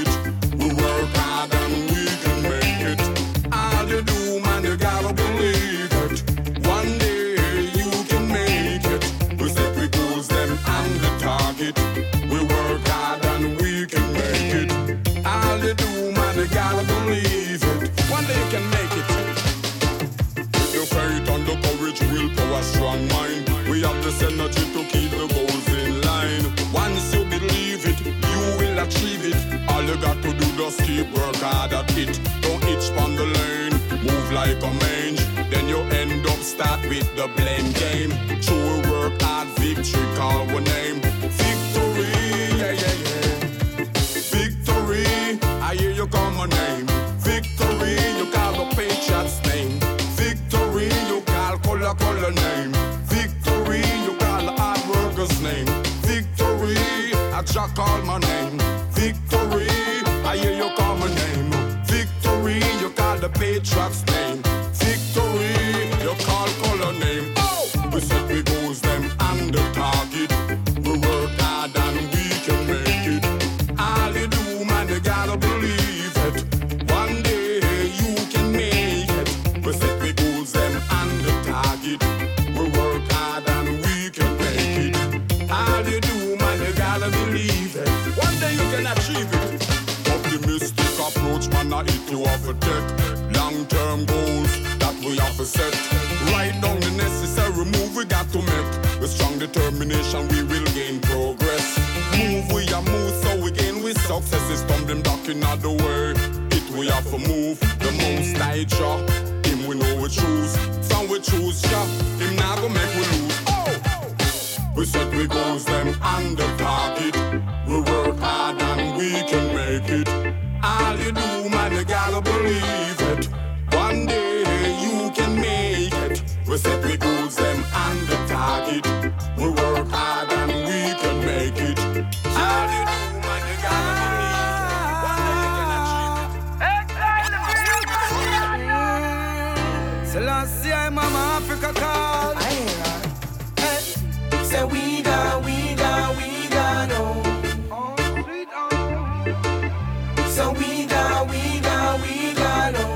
All you do, man, you gotta believe it. One day you can make it. With your faith and the courage, willpower, strong mind, we have this energy to keep the goals in line. Once you believe it, you will achieve it. All you got to do, just keep work hard at it. Don't itch on the lane, move like a mange. Then you end up start with the blame game. True work hard, victory, call one name. Victory, yeah, yeah, yeah. Victory, I hear you call my name. Victory, you call the Patriots name. Victory, you call color, color name. Victory, you call the hard workers name. Victory, I just call my name. Victory, I hear you call my name. Victory, you call the Patriots name. Victory, you call color name. Oh, we set we goals them on the target. We work hard and we can make it. All you do, man, you gotta believe it. One day you can make it. We set we goals them on the target. We work hard and we can make it. All you do, man, you gotta believe it. One day you can achieve it. Optimistic approach, man, I hit you off a tech. Long-term goals that we have to set. Write down the necessary move we got to make. With strong determination we will gain progress. Move we a move so we gain with success. Is stumbling block in the way. It we have to move. The most I draw. Him we know we choose. Some we choose, yeah. Him now go make we lose. Oh! We set we goals them on the target. We work hard and we can make it. All you do, man, you gotta believe it. One day you can make it. We set we goals them on the target. We work hard and we can make it. All you do, man, you gotta believe it. One day you can achieve it. Selassie, I'm Mama Africa call. Hey, say we got, we got, we got no. So we got, we got, we got no.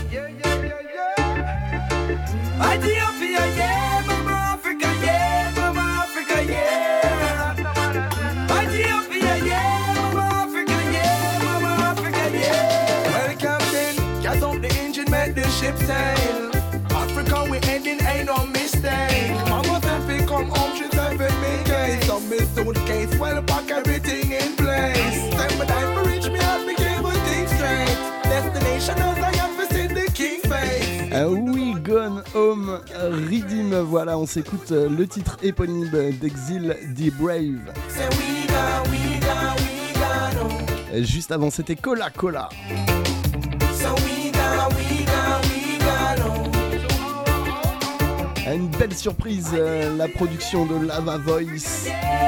Ethiopia, yeah, Mama Africa, yeah, Mama Africa, yeah. Ethiopia, yeah, Mama Africa, yeah, Mama Africa, yeah. Well, Captain, gas up the engine, make the ship sail. Africa, we heading, ain't no mistake. Mama said we come home, she said we make it. Some miss suitcase, well, pack everything in place. Time my time to reach me out, me came with things straight. Destination as I am to see the king face. Uh, We Gone Home Redeem, voilà, on s'écoute le titre éponyme d'Exil The Brave. Juste avant, c'était Cola Cola. Une belle surprise, euh, la production de Lava Voice.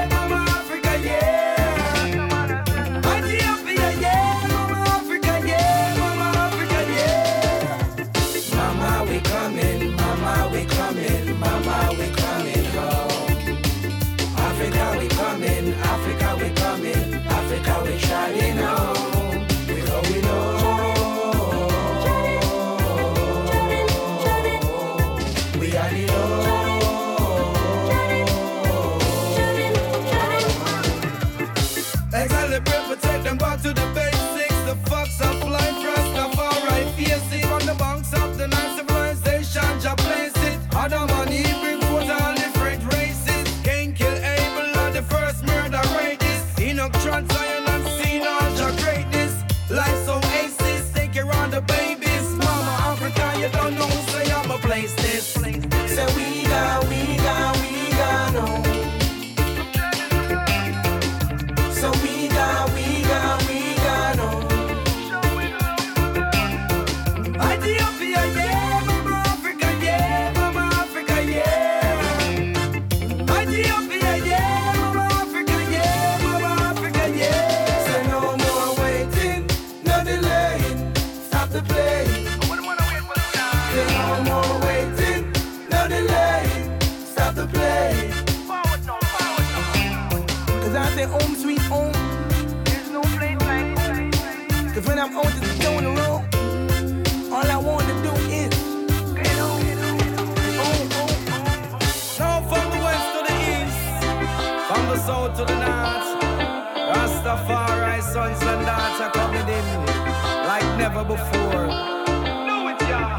Back to the basics, the fucks of life, Rastafari, face it. From the banks of the night civilization, Jah place it. Adam and Eve bring forth all different races. Cain kill Abel and the first murder raiders. Enoch trod Zion and seen all Jah greatness. Life's oasis, take care of the babies. Mama Africa, you don't know, say I'm a place this. Say we got, we got, we got no. So we got, we got, we got no. Ethiopia, yeah, Mama Africa, yeah, Mama Africa, yeah. Ethiopia, yeah, Mama Africa, yeah, Mama Africa, yeah. Say no more waiting, no delaying, stop the playing. Say no more waiting, no delaying, stop the playing. Cause I say home sweet home. Cause when I'm out on the road, all I want to do is get on, get on, get on. Oh, oh, oh. Now from the west to the east, from the south to the north, Rastafari sons and daughters are coming in. never before. Do it, y'all.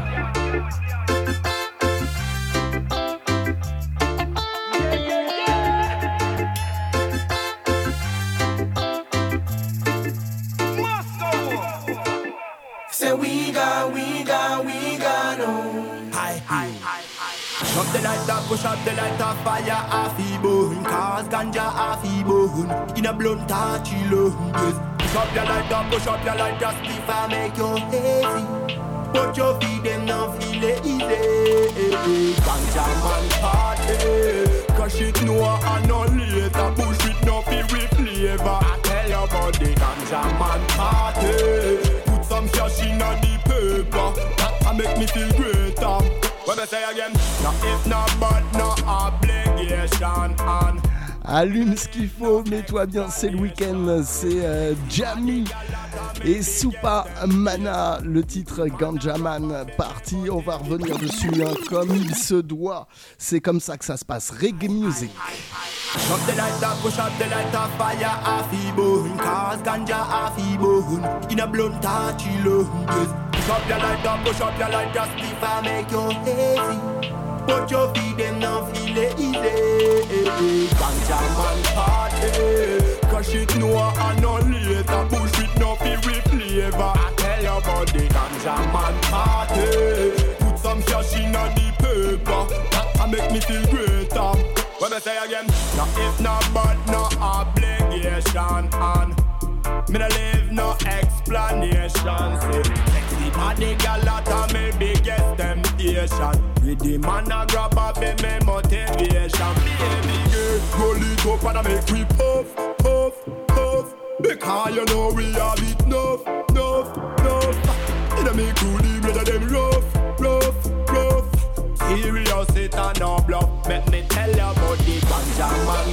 Say we got, we got, we got no. Hi, hi, hi, hi. Drop the lighter, push up the lighter, fire off the bone. Cause ganja off the bone. In a blunt touch, yes. Push up your lighter, push up your lighter, spliff and make you hazy. But your feet them now feel it easy. Ganja man party. Cause it no and no later. Push it no feel with flavor. I tell you about the ganja man party. Some cash in the paper, that make me feel greater. What I say again? Now if not bad, no obligation on. Allume ce qu'il faut, mets-toi bien, c'est le week-end, c'est euh, Jamie et Supa Mana, le titre Ganja Man Party, on va revenir dessus hein, comme il se doit, c'est comme ça que ça se passe, reggae music. Drop the lighter, push up the lighter, fire off the bone. Cause ganja off the bone. In a blunt touch, yes. Push up your lighter, push up your lighter, spliff and make you hazy. But your feet them now feel it easy. Ganja man party. Cause it no and no later. Push it no feel with flavor. I tell you about the ganja man party. Put some cash in the paper. That make me feel greater. What I say again? Now if not bad, no obligation on. Me no leave no explanation. Say, sexy body gal out me biggest temptation. With the man a grab up in me motivation. Baby girl, roll it up and I make we puff, puff, puff. Because you know we have it enough, enough, enough. It a make cool the blood of them rough, rough, rough. Serious it and no bluff. Make me tell you about the ganja man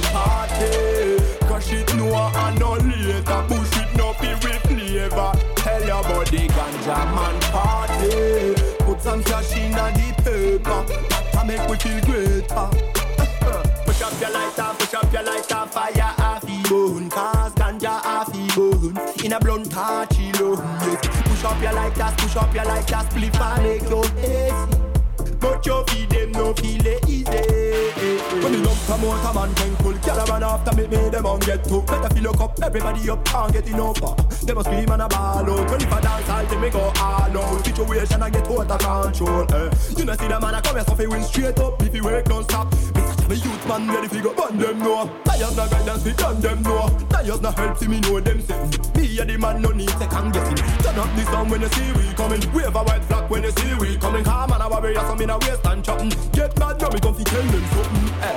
party. Cause it no and no later. Push it no feel with flavor. Tell you about the ganja man party. Put some cash in the paper. That make we feel greater. Push up your lighter, push up your lighter. Fire off the bone. Cause ganja off the bone. In a blunt touch, yes. Push up your lighters, push up your lighters. Spliff and make you hazy. But your feet them no feel it easy. When me love come out a man can pull caravan after me me them on get to. Better fill up up everybody up can't get enough. Them a scream and a ball out. When if I dance I'll take me go all out. Situation I get out of control. Eh. You know see the man a come here so fi win straight up. If you work don't stop. Me such a youth man ready fi go burn them know. Liars na guidance fi done them know. Liars na help see me know them say. Me a the man no need second guessing. Turn up the sound when you see we coming. Wave a white flag when you see we coming. Calm and a warrior so me na waste and chatting. Get mad now me come fi tell them something. Eh,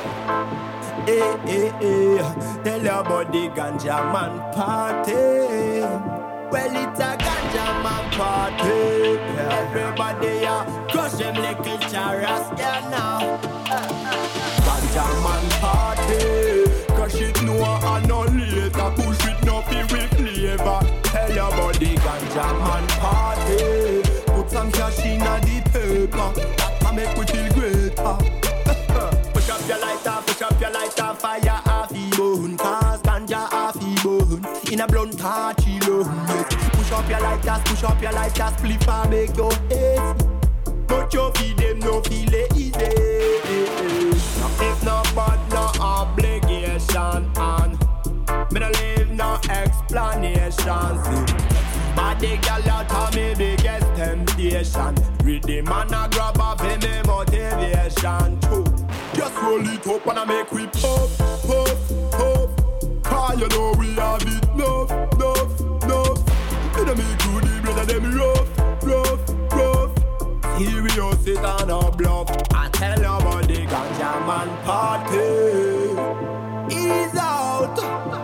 eh, eh, eh. Tell you about the ganja man party. Well, it's a ganja man party. Everybody a crush them little charas, yeah now. Ganja man party. Crush it no and no later. Push it no feel with flavor. Tell you about the ganja man party. Put some cash in the paper. That make we feel greater. Push up your lighter, push up your lighter. Fire off the bone. Cause ganja off the bone. In a blunt touch, yes. Push up your lighters, push up your lighters. Spliff and make you hazy. But your feet them no feel it easy. Now if no bad, no obligation on. Me no leave no explanation. See, body gal out of me biggest temptation. With the man a grab up in me motivation too. Just roll it up and I make we puff, puff, puff. Cause you know we have it enough, enough, enough. It a make you the blood of them rough, rough, rough. Serious it and a bluff. I tell you about the ganja man party. Ease out.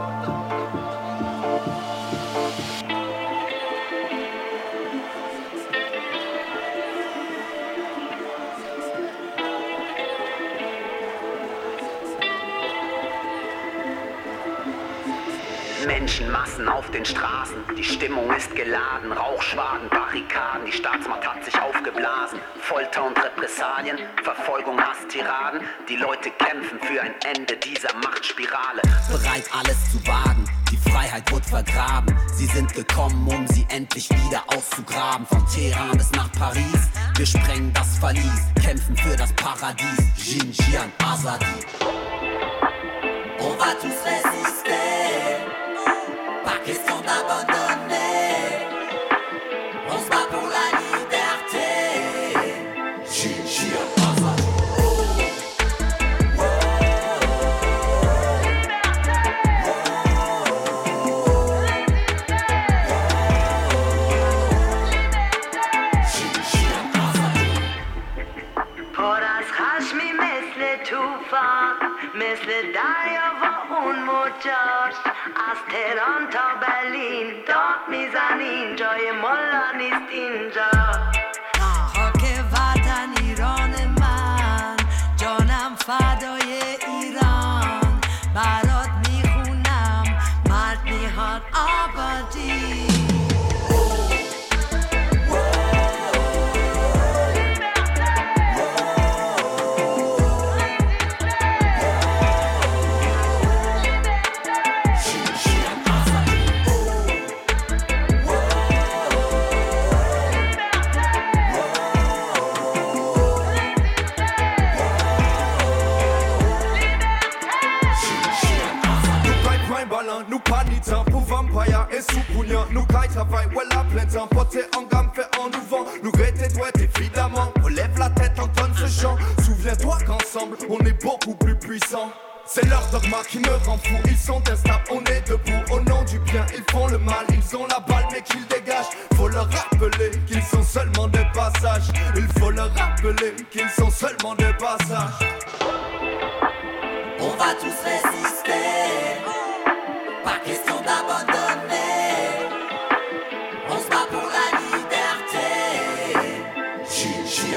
Menschenmassen auf den Straßen, die Stimmung ist geladen, Rauchschwaden, Barrikaden, die Staatsmacht hat sich aufgeblasen, Folter und Repressalien, Verfolgung, Hass, Tiraden, die Leute kämpfen für ein Ende dieser Machtspirale, bereit alles zu wagen, die Freiheit Freiheit wurde vergraben. Sie sind gekommen, um sie endlich wieder auszugraben. Von Teheran bis nach Paris, wir sprengen das Verlies, kämpfen für das Paradies. Xinjiang, Azadi. On va tous résister, pas question d'abandonner. On se bat pour la liberté. Xinjiang, Azadi. مثل دریا و اون موجاش از تهران تا برلین داد میزنین جای ملا نیست اینجا خاک وطن ایران من جانم فدای ایران برات میخونم مرد میهاد آبادی Nous pas ni temps pour vampire et sous-pougnan. Nous caille travail, voilà plein temps. Porter en gamme, fait en nous vent. Nous grêter doigts évidemment. On lève la tête, entonne ce chant. Souviens-toi qu'ensemble, on est beaucoup plus puissants. C'est leur dogma qui me rend fou. Ils sont instables, on est debout. Au nom du bien, ils font le mal. Ils ont la balle, mais qu'ils dégagent. Faut leur rappeler qu'ils sont seulement de passage. Il faut leur rappeler qu'ils sont seulement de passage. On va tous résister. Pas question d'abandonner. On se bat pour la liberté. Xinjiang,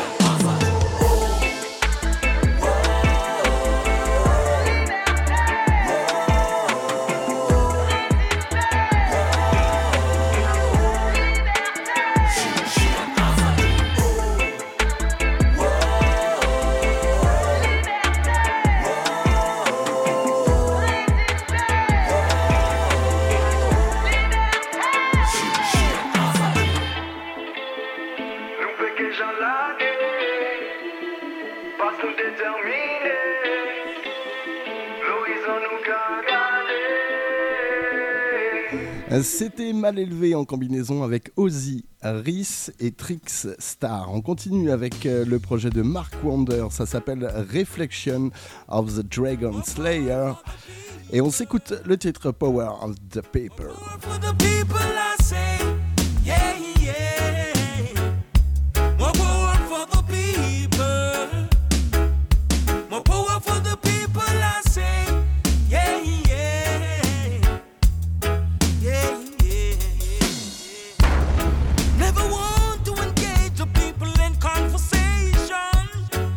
C'était Mal Élevé en combinaison avec Ozzy, Rhys et Trix Star. On continue avec le projet de Mark Wonder, ça s'appelle Reflection of the Dragon Slayer. Et on s'écoute le titre Power of the People. For the people I say, yeah, yeah. More power for the people. More power for the people I say, yeah, yeah. Yeah, yeah. Never want to engage the people in conversation.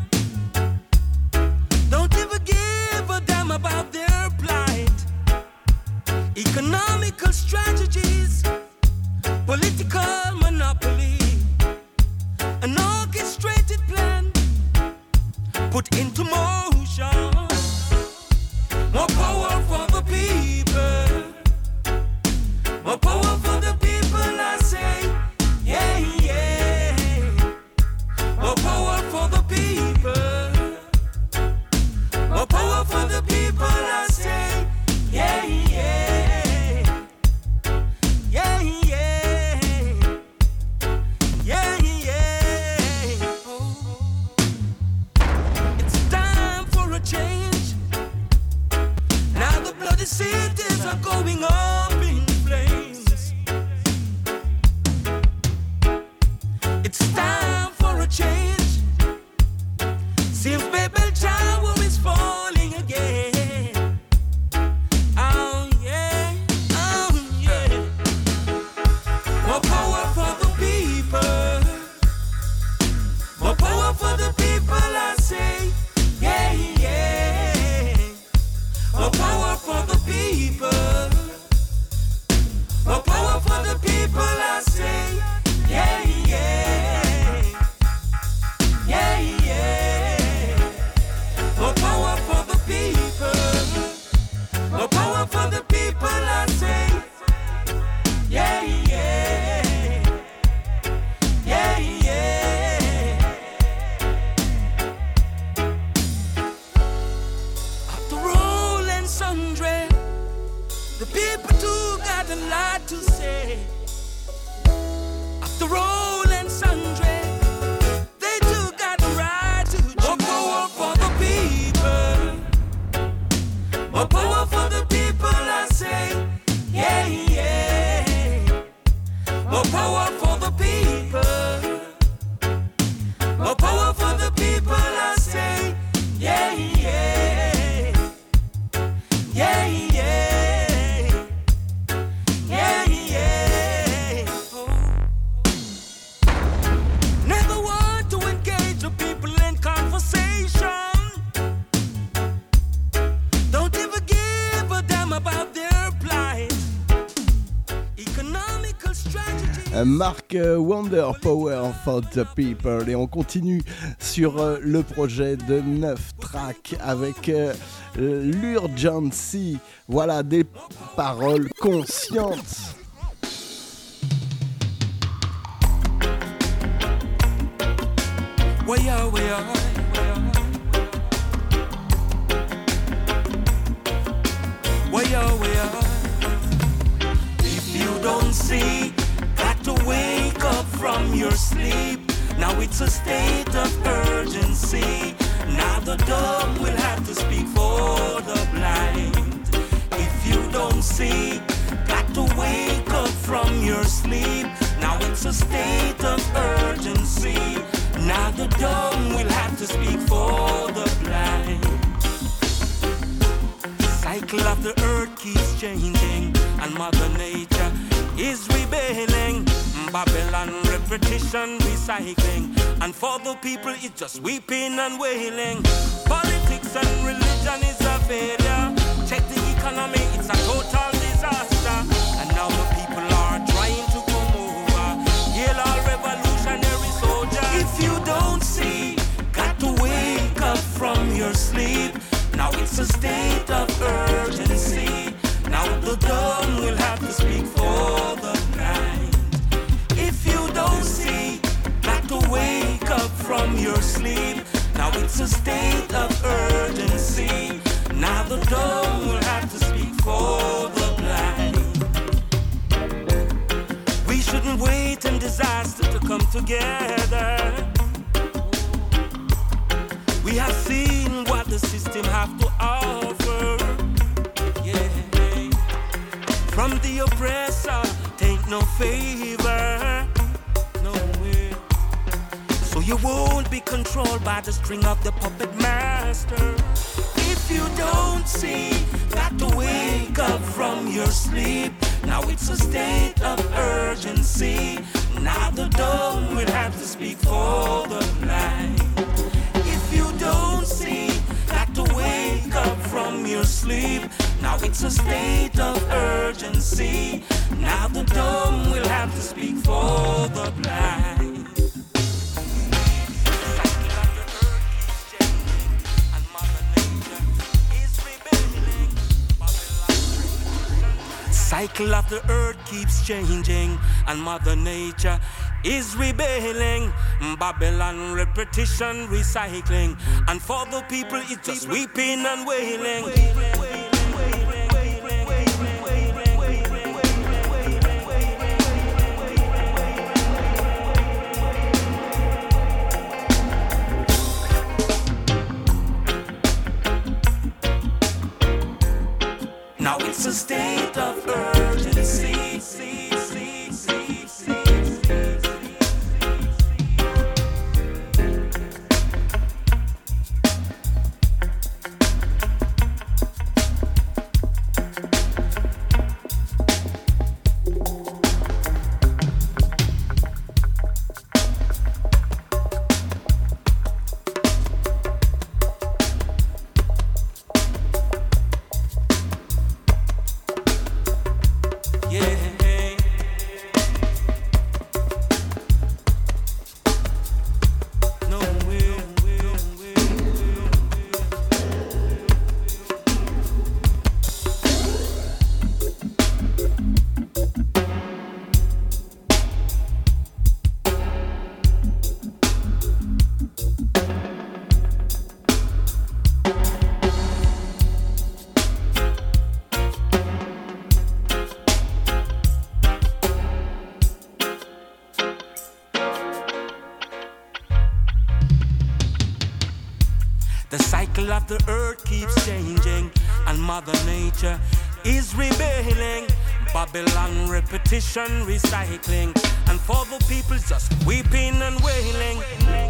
Don't ever give a damn about their plight. Economical strategies, political monopoly, an orchestrated plan put into motion. More power for the people. More power for the people, I say, yeah, yeah. More power for the people. More power for the people, I say, yeah, yeah. Yeah, yeah. Yeah, yeah. Oh. It's time for Mark Wonder, Power for the People. Et on continue sur euh, le projet de neuf tracks avec euh, l'Urgency. Voilà des paroles conscientes. Way out, way out, way out, way out. If you don't see, got to wake up from your sleep. Now it's a state of urgency. Now the dumb will have to speak for the blind. If you don't see, got to wake up from your sleep. Now it's a state of urgency. Now the dumb will have to speak for the blind. Cycle of the earth keeps changing, and Mother Nature is rebelling. Babylon repetition, recycling, and for the people it's just weeping and wailing. Politics and religion is a failure. Check the economy, it's a total disaster. And now the people are trying to come over. Hail all revolutionary soldiers. If you don't see, got to wake up from your sleep. Now it's a state of urgency. Now the dumb will have to speak for the blind. If you don't see, got to wake up from your sleep. Now it's a state of urgency. Now the dumb will have to speak for the blind. We shouldn't wait in disaster to come together. We have seen what the system have to offer. Yeah. From the oppressor, take no favor. No way. So you won't be controlled by the string of the puppet master. If you don't see, got to wake up from your sleep. Now it's a state of urgency. Now the dumb will have to speak for the blind. If you don't see, got to wake up from your sleep. Now it's a state of urgency. Now the dumb will have to speak for the blind. Cycle of the earth keeps changing, and Mother Nature is rebelling. Babylon repetition, recycling, and for the people it's just weeping and wailing. Now it's a state of urgency. Of the earth keeps changing, and Mother Nature is rebelling. Babylon repetition, recycling, and for the people just weeping and wailing.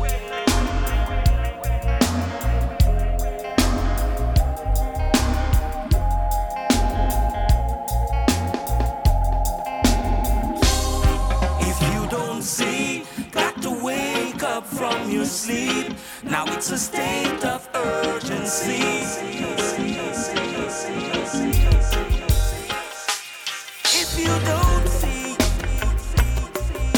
If you don't see, got to wake up from your sleep. Now it's a state of urgency. If you don't see,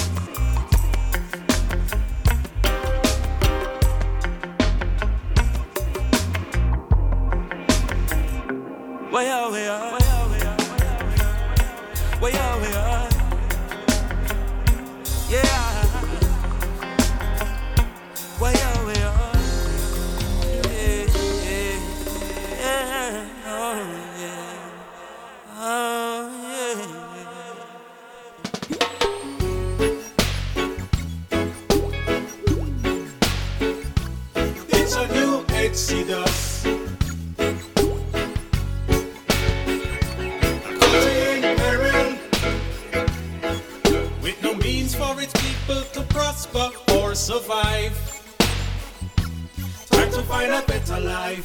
means for its people to prosper or survive. Time to find a better life.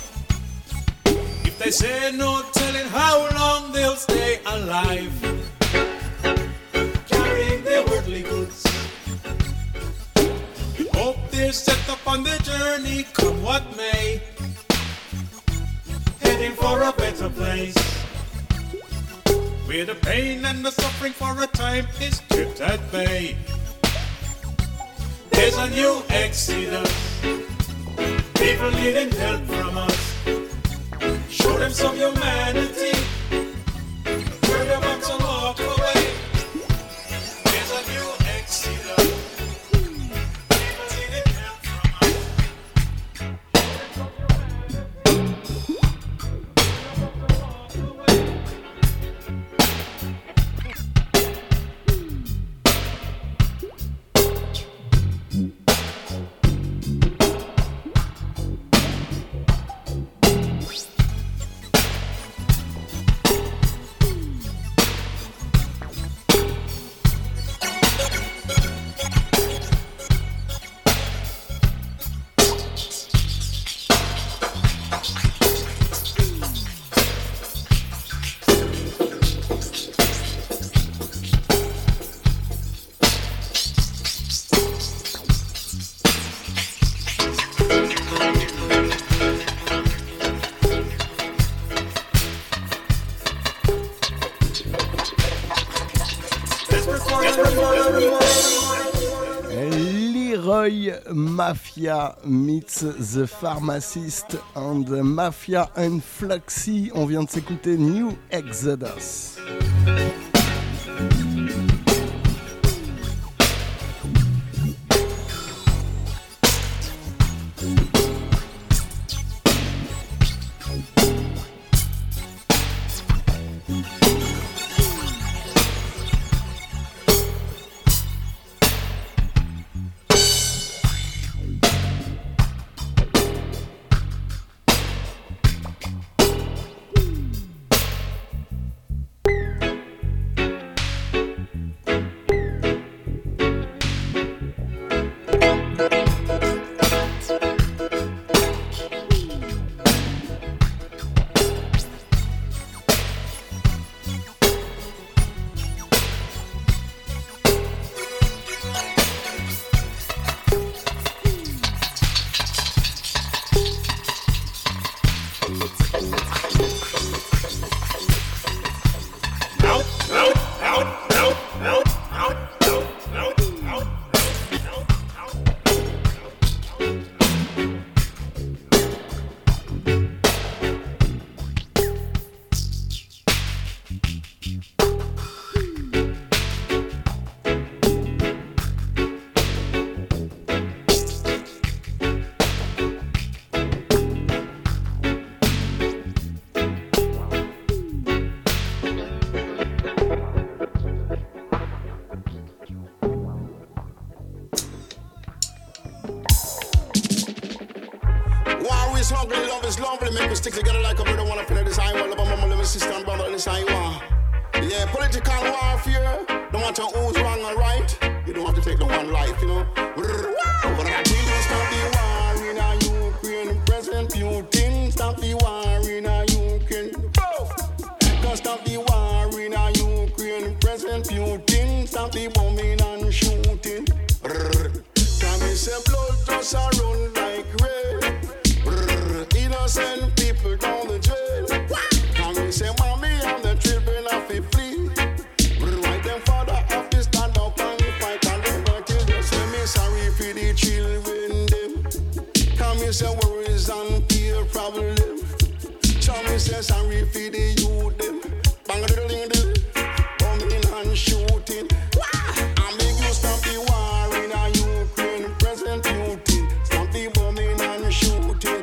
If they say no telling how long they'll stay alive, carrying their worldly goods. Hope they're set up on the journey, come what may, heading for a better place, where the pain and the suffering for a time is kept at bay. There's a new exodus, people needing help from us. Show them some humanity, turn their backs and walk away. There's a new exodus, people needing help from us. Leroy Mafia meets The Pharmacist and Mafia and Fluxy. On vient de s'écouter New Exodus. Stick together like a brother, wanna finish this I want. Love my mama, living sister and brother, this I want. Yeah, political warfare. Don't want to who's wrong or right. You don't have to take the one life, you know. But I think we'll stop the war in a Ukraine. President Putin, stop the war in a Ukraine. Don't stop the war in a Ukraine. President Putin, stop the bombing and shooting. Can we say blood just a run like rain? Innocent people down the jail. Can we say mommy and the children have to flee? Right them father have to stand up and fight and never kill. Just say me sorry for the children them. Can we say worries and peer problem? Can we say sorry for the youth them? Bang a little ding bombing and shooting. I make you stop the war in a Ukraine. President Putin, stop the bombing and shooting.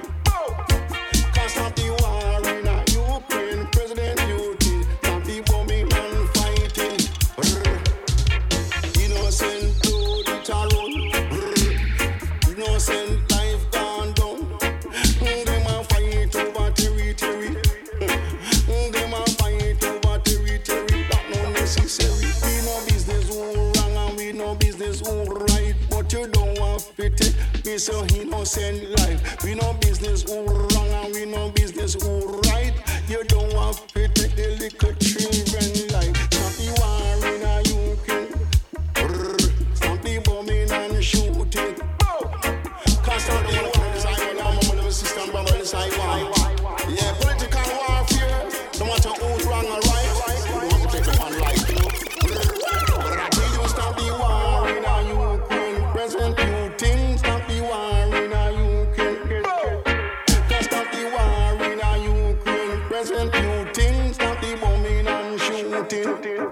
Stop the war in a Ukraine, President Putin. Stop the bombing and fighting. Innocent blood it a run. Innocent life gone down. Them a fight over territory. Them business alright, but you don't want to take me so innocent life. We no business all wrong and we no business all right. You don't want to take the little children life. Stop the war in a U K. Stop the bombing and shooting. Can't stop the war in this island. I'm a little sister and brother in this island. Yeah, political warfare. No matter who's wrong or right, you don't have to take them on life. Stop the war in a Ukraine. President Putin, stop the war in a Ukraine. Can't stop the war in a Ukraine. President Putin, stop the bombing and shooting.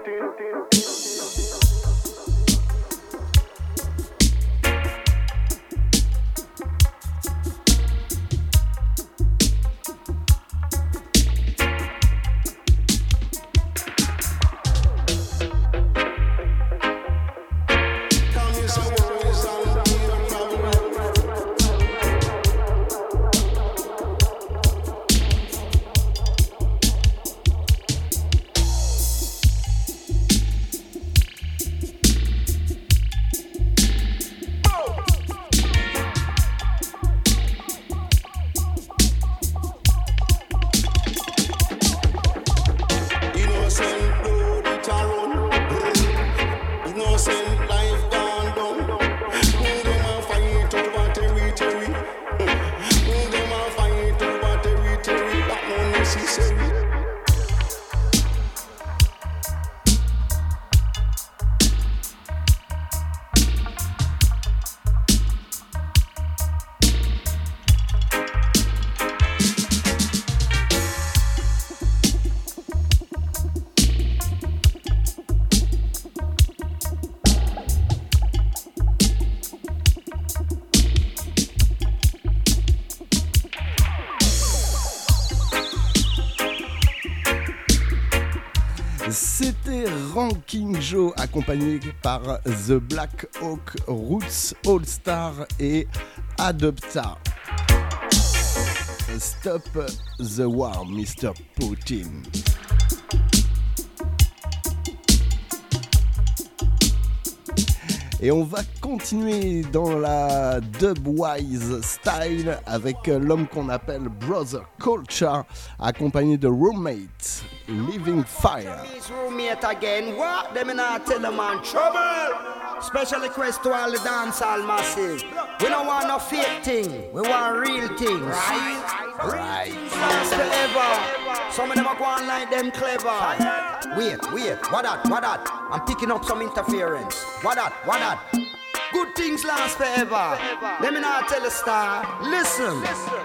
C'était Ranking Joe accompagné par The Black Hawk Roots All Star et Adopta. Stop the war, mister Putin. Et on va continuer dans la dubwise style avec l'homme qu'on appelle Brother Culture, accompagné de Roommate, Living Fire. Roommate again, what? Them in our tell them on trouble. Special request to all the dancehall massive. We don't want no fake thing, we want real things. Right? Right. Last forever. Some of them are going like them clever. Wait, wait, what that, what that? I'm picking up some interference. What that, what that? Good things last forever. Let me not tell a star. Listen.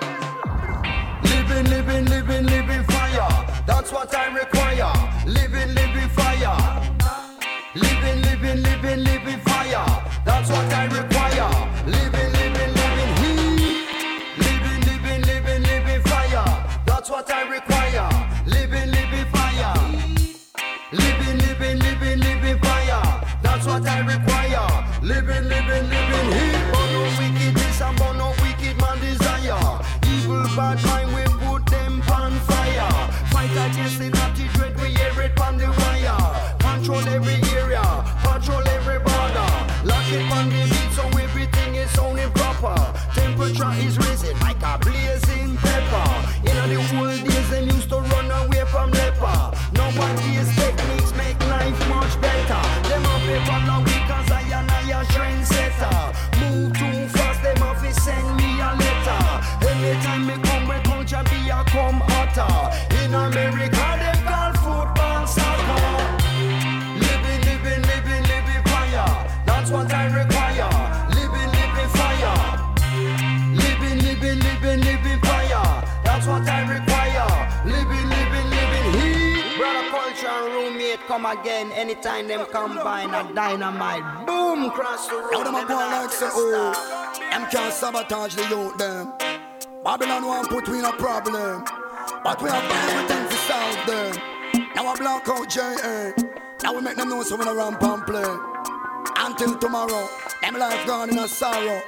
Living, living, living, living fire. That's what I require. Living, living fire. Living, living, living, living fire. That's what I require. Living, living, living heat. Living, living, living, living fire. That's what I require. Living, living fire. Living, living, living, living fire. That's what I require. Living, living, living heat. But no wickedness and but no wicked man desire. Evil bad mind we put them on fire. Fight against the naughty dread we hear it on the wire. Control every area, control every border. Lock it on the beat so everything is sounding proper. Temperature is rising like a blazing pepper. In the old days them used to run away from leper. Nowadays techniques make life much better. Them a paper now because I and I a trendsetter. Move too fast, them a fi send me a letter. Anytime me come, my culture be a come hotter. In America them call football soccer. Living, living, living, living fire. That's what I require. Living, living fire. Living, living, living, living fire. That's what I require. Living, living, living heat. Brother Culture and Roommate come again. Anytime them combine a dynamite. Boom, cross the road. Now them a go like say, oh, them can't sabotage the youth them. Babylon won't put we in a problem, but we have everything to solve them. Now I block out J A. Now we make them know so we don't ramp and play. Until tomorrow, them life gone in a sorrow.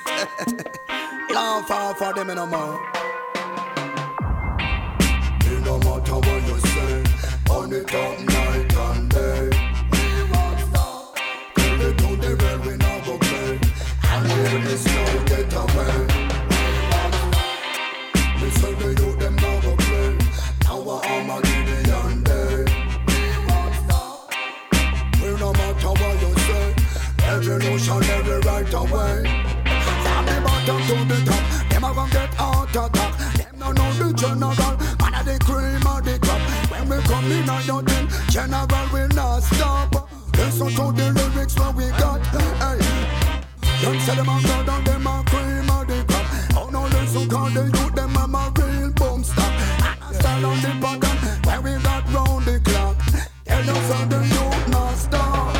Laugh off for them in a more. It no matter what you say, on it up night and day. We won't stop till we do the well we right away. From the bottom to the top, them a gon' get heart attack. Them no know the general, man a the cream of the crop. When we come in on your thing, general will not stop. Listen to the lyrics what we got. Hey, them say them a god and them a cream of the crop. Oh no, listen, cause the youth them a my real boom stop. And I stand on the bottom where we got round the clock. Tell us how the youth not stop.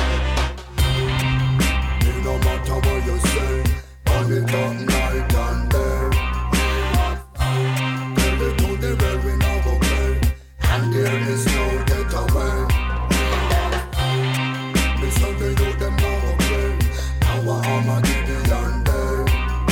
It no matter what you say, on it up night and day. Tell it to the well we now go play, and there is no getaway. Listen the youth them now go play, our armor give the land day.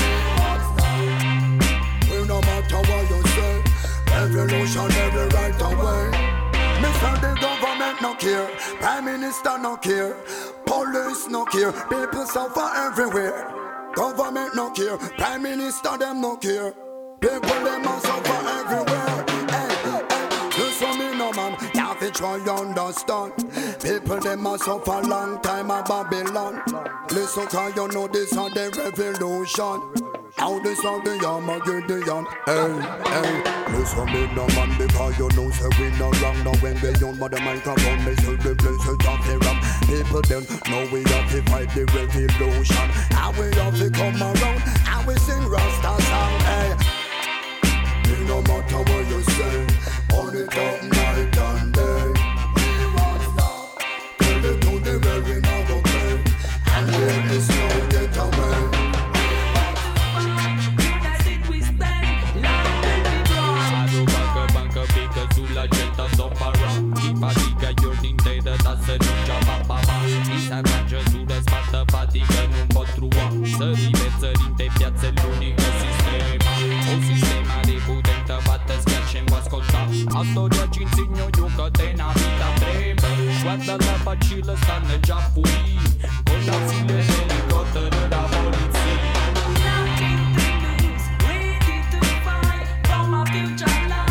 We no matter what you say, revolutionary right away. Mister the government no care, Prime Minister no care, police no care, people suffer everywhere. Government no care, Prime Minister them no care, people them a suffer everywhere. Hey, hey, listen me no man, you have to try understand. People them a suffer long time a Babylon. Listen cause you know this is the revolution. Now this is the Armageddon. Hey, hey, listen me no man because you know say we no wrong. Now when we on the microphone, they say the place is talking wrong. People then know we have to fight the revolution. And we have to come around and we sing Rasta song. Hey, it no matter what you say, on it up night and day. We won't stop. Tell it to the well we now go play, and there is no getaway. Sulla gente sopra, chi fatica giorni interi da se non già va va va. Chi si arrangia sulle spalle fatica non può trovare. Se rivezza in te piazza è l'unico sistema. Un sistema di potente fatta schiaccia in può ascoltare. A storia ci insegno io che te una vita breve. Guarda la facile stanno già fuori, con la fine dell'elicottero della polizia. Nothing to lose, ready to fight for my future life.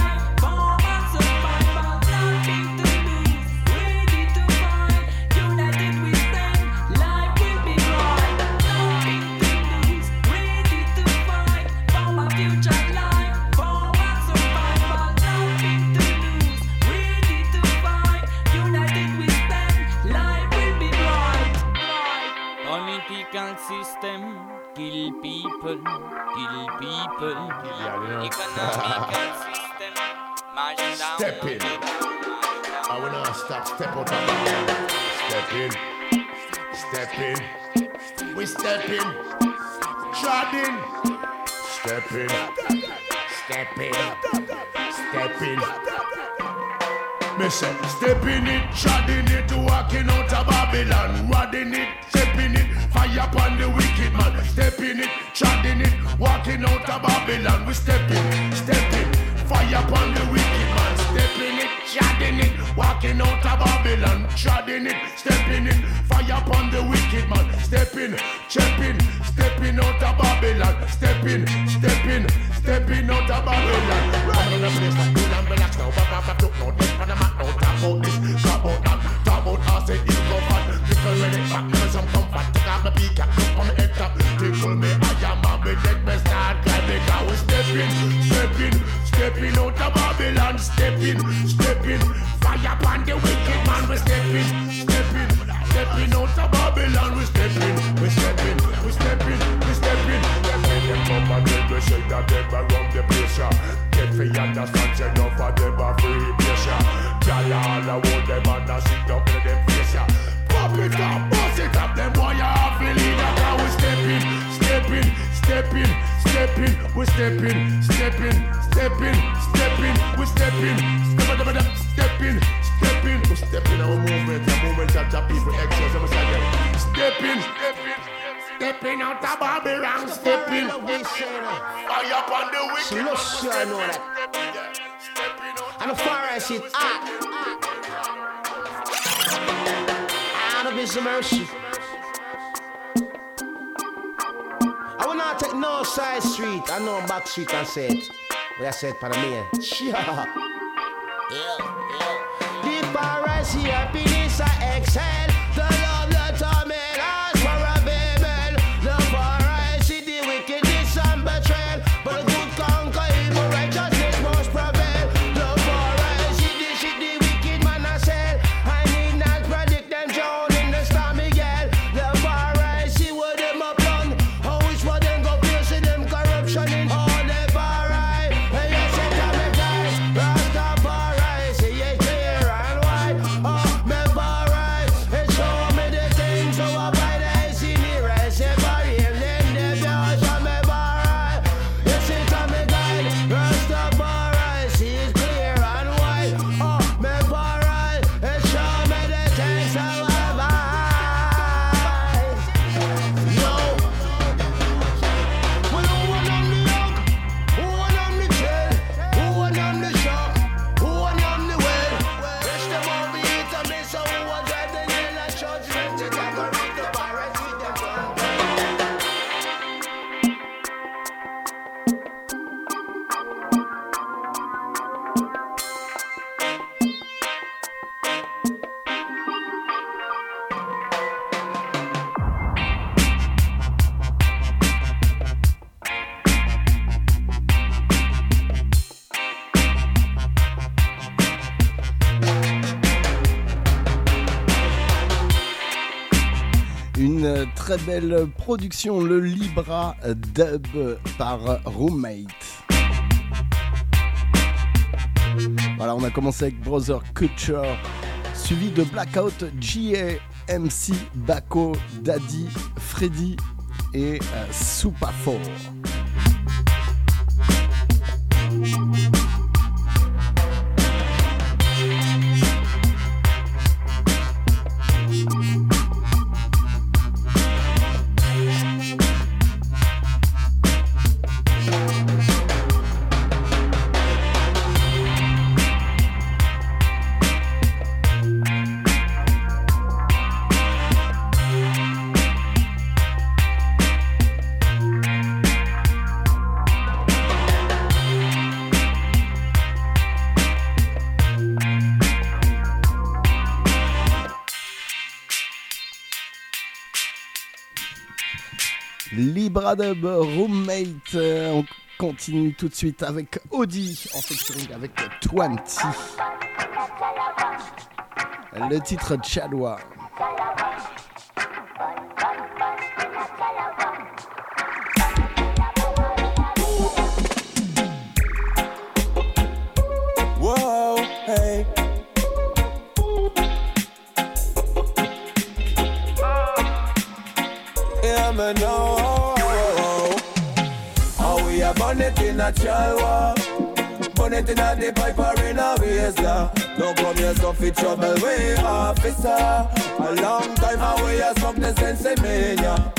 System, kill people, kill people. Economical system, march down. Step in. I will not stop. Step out of the Step in. Step in. We step in. Trod in. Step in. Step in. Step in. Me say, step in it, treading it, walking out of Babylon, rodding it, stepping it, fire upon the wicked man. Step in it, treading it, walking out of Babylon. We step in, step in, fire upon the wicked man. Step in it, treading it, walking out of Babylon. Treading it, stepping in, fire upon the wicked man. Step in, step in, stepping out of Babylon. Step in, step in, stepping out of Babylon. Run on the place, like cool and relax now. Papa, took no death on the mat. Now talk about this, talk about that, talk about us, say you go fat. Tickle when it back, give me some comfort. Take off the peak, look on the head top. Tickle me, I am a big dead best start. Climb the car, we step in, step in, stepping out of Babylon. Step in, step in, fire upon the wicked man. We step in, step in, stepping out of Babylon. We step in, we step in, we step in, we step in. Them come and take the shake that them around the place. Get for you understand, say no for them a free place. Y'all all a hold them and a sit down in them face. Pop it up, bust it up, them boy you have to lead that. Now we step in, step in, step in, step in. We step in, step in, step in, step in. We step in, step in, step in, step in. We step in our movement, the movement that the people exercise. I'm saying, step in, step in. Stepping out of Babylon, stepping. Fire up on the wicked. She looks sure I know that. And the far as shit hot. Out of his mercy. I will not take no side street. I know back street and say it. But I said Panamanian. Yeah. The far as here, happiness I exhale. The love that I made us for a baby. Une très belle production, le Libra Dub par Roommate. Voilà, on a commencé avec Brother Culture, suivi de Blackout, G A, M C, Bako, Daddy, Freddy et euh, Super Four. Libra Dub, Roommate. On continue tout de suite avec Audi en featuring avec Twenty. Le titre Chalwa. Whoa, hey. Yeah, man, no. Oh, we are born it in a chalwa. Born it in a the pipe or in a waistler. Don't come here so fit trouble way, officer. A long time away, I smoke the sense mania.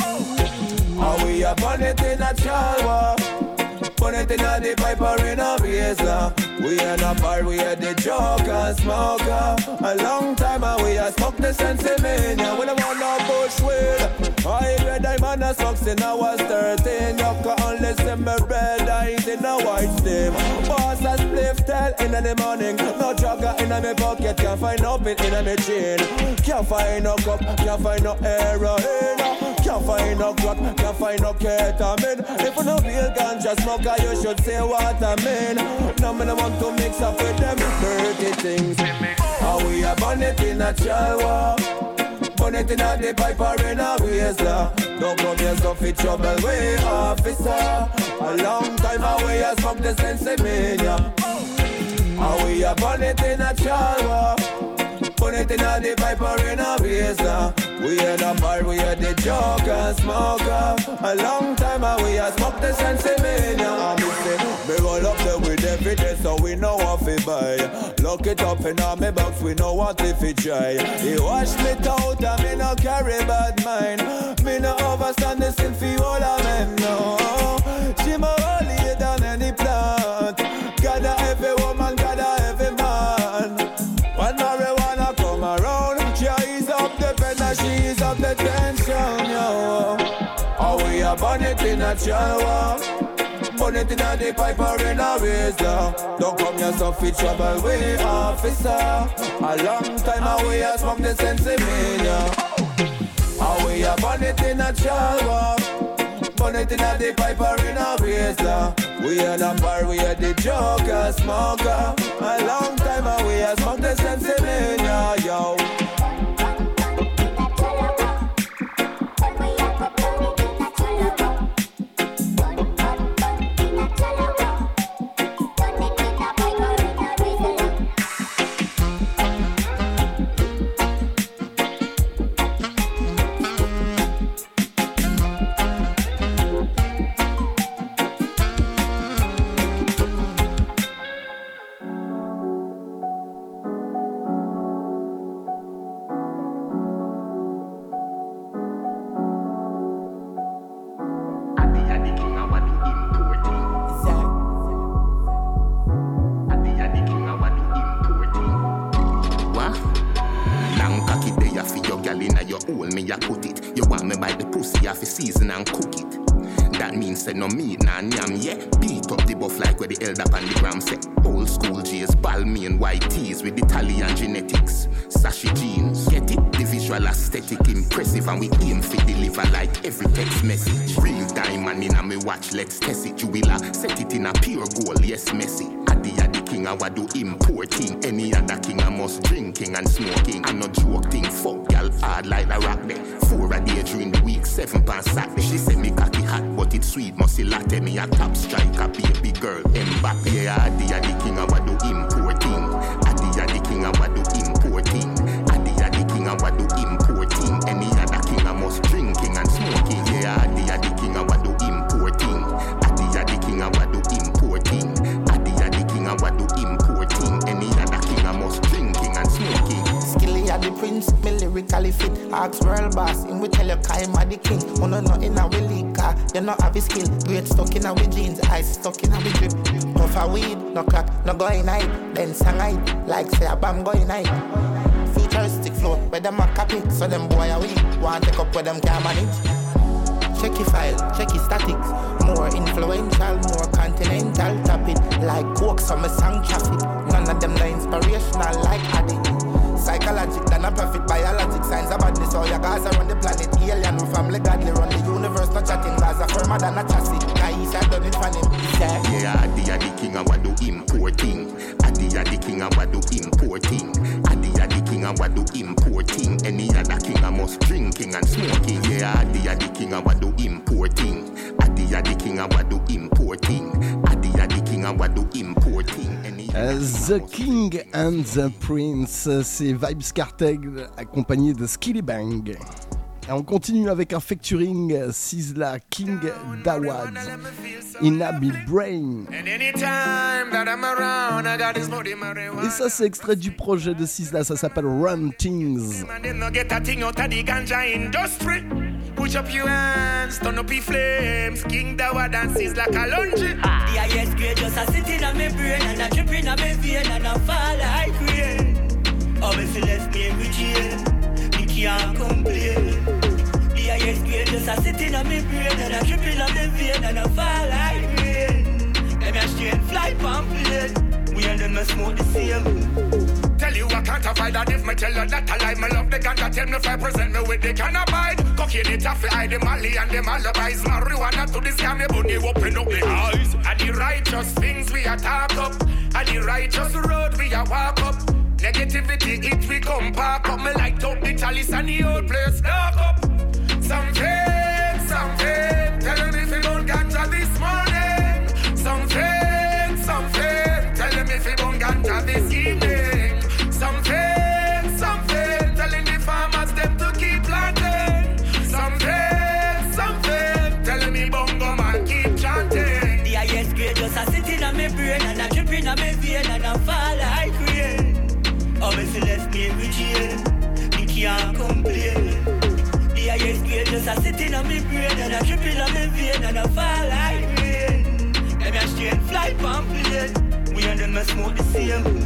Oh, we are born it in a chalwa. Born it in a the pipe or in a waistler. We in a bar, we are the joker, smoker. A long time away, I smoke the sense mania. We don't want no bushwick. I read I'm on a socks and I was thirteen. You can only see me red eyes in a white steam. Boss a spliff tell in the morning. No jogger in my pocket, can't find no bit in my chain. Can't find no cup, can't find no heroin. Can't find no crack, can't find no ketamine. If you no real ganja smoker, you should say what I mean. No man want to mix up with them dirty things. How we are born it in a chalwa. Born it in a the pipe or in a waistler. Don't come here so fit trouble way, officer. A long time away I smoke the sense mania. How we are born it in a chalwa. Born it in a the pipe or in a waistler. We in a bar, we are the joker, smoker. A long time away I smoke the sense mania. I'm me roll up there with every day so we know what we buy. Lock it up in our me box, we know what if we try. He wash me out and me no carry bad mind. Me no overstand the sin for all of men, no. She more holy than any plant. Gather every woman, gather every man. When marijuana come around, she ease up the pen and she ease up the tension, yo. Oh, we are born it in a chalwa. Born it in a the pipe or in a razor. Don't come here so fit trouble way, officer. A long time away I smoke the sense mania. Oh, we are born it in a chalwa. Born it in a the pipe or in a razor. We in a bar, we are the joker, smoker. A long time away I smoke the sense mania, yo. Season and cook it. That means say no meat, nah yam, yeah. Beat up the buff like where the elder pan the gram say. Old school J's, Balmain white tees with Italian genetics. Sashi jeans, get it? The visual aesthetic impressive and we aim for deliver like every text message. Real diamond in a me watch, let's test it. You will uh, set it in a pure gold, yes, messy. Addy addy king I would do importing. Any other king I must drinking and smoking. I no joke thing, fuck y'all hard like the rock there. Four a day during the week, seven pounds Saturday. She say me cocky hot, but it's sweet, must see latte. Me a top striker, baby girl. Mbappe, yeah, Adi a the king I would do importing. Adi a the king I would do importing. Adi a the king I would do importing. Any other king I must drinking and smoking. Yeah, Adi a the king I would do importing. Adi a the king I would do importing. Adi a the king I would do importing. Any other king I must drinking and smoking. Skilly a the prince, me lyrically fit. Ask world boss, him we tell you Kaim a the king. Uno no in a we leaker, you know have a skill. Great stuck in a we jeans, eyes stuck in a we drip. Puff a weed, no crack, no go in night. Then sang night, like say a bam go in night. Futuristic flow, where them a copy, so them boy a weed. Want take up where them can manage. Check your file, check your statics. More influential, more continental. Tap it like coke, some song traffic. None of them no inspirational like addict. Psychologic than a perfect biologic. Signs of badness, all your guys are on the planet. Alien with family godly, run the universe, no chatting. Gaza firmer than a chassis. Guys have done it for him. Yeah, Adi a the king I would do importing. Adi a the king I would do importing. Adi a the king I would do importing. Any other king I must drinking and smoking. Yeah, Adi a the king I would do importing. Adi a the king I would do importing. Adi a the king I would do importing. Uh, the King and the Prince, c'est Vybz Kartel accompagné de Skilly Bang. Et on continue avec un featuring Sizzla King Dawad, Inabil Brain. Et ça c'est extrait du projet de Sizzla, ça s'appelle Run Things. Push up your hands, turn up your flames. King Dawad and Sizzla Kalonji. The highest grade just a sitting on my brain and a dripping on my vein and a fall like rain. Oh, if you left me with jail, me can't complain. The highest grade just a sitting on my brain and a dripping on my vein and a fall like rain. Them a straight fly pamphlet, we and them a smoke the same. Tell you I can't avoid that if me tell you that I lie. Me love the ganja, tell me if I present me with the can abide. Cocaine it off, I the Mali and the alibis. Marijuana to this scam, me bunny open up the eyes. And the righteous things we attack up, and the righteous road we a walk up. Negativity it we come park up. Me light up the chalice and the old place dark up. Some fake, some fake, tell me if you don't ganja this morning. Some fake, some fake, tell me if you don't ganja this evening. Some fake, some fake, telling the farmers them to keep planting. Some fake, some fake, telling me bongo man keep chanting. The highest grade just a sitting on my brain and a dripping on my vein and a fall like rain. Oh, if you left me with jail, me can't complain. The highest grade just a sitting on my brain and a dripping on my vein and a fall like rain. Them a straight fly pamphlet, we and them a smoke the same.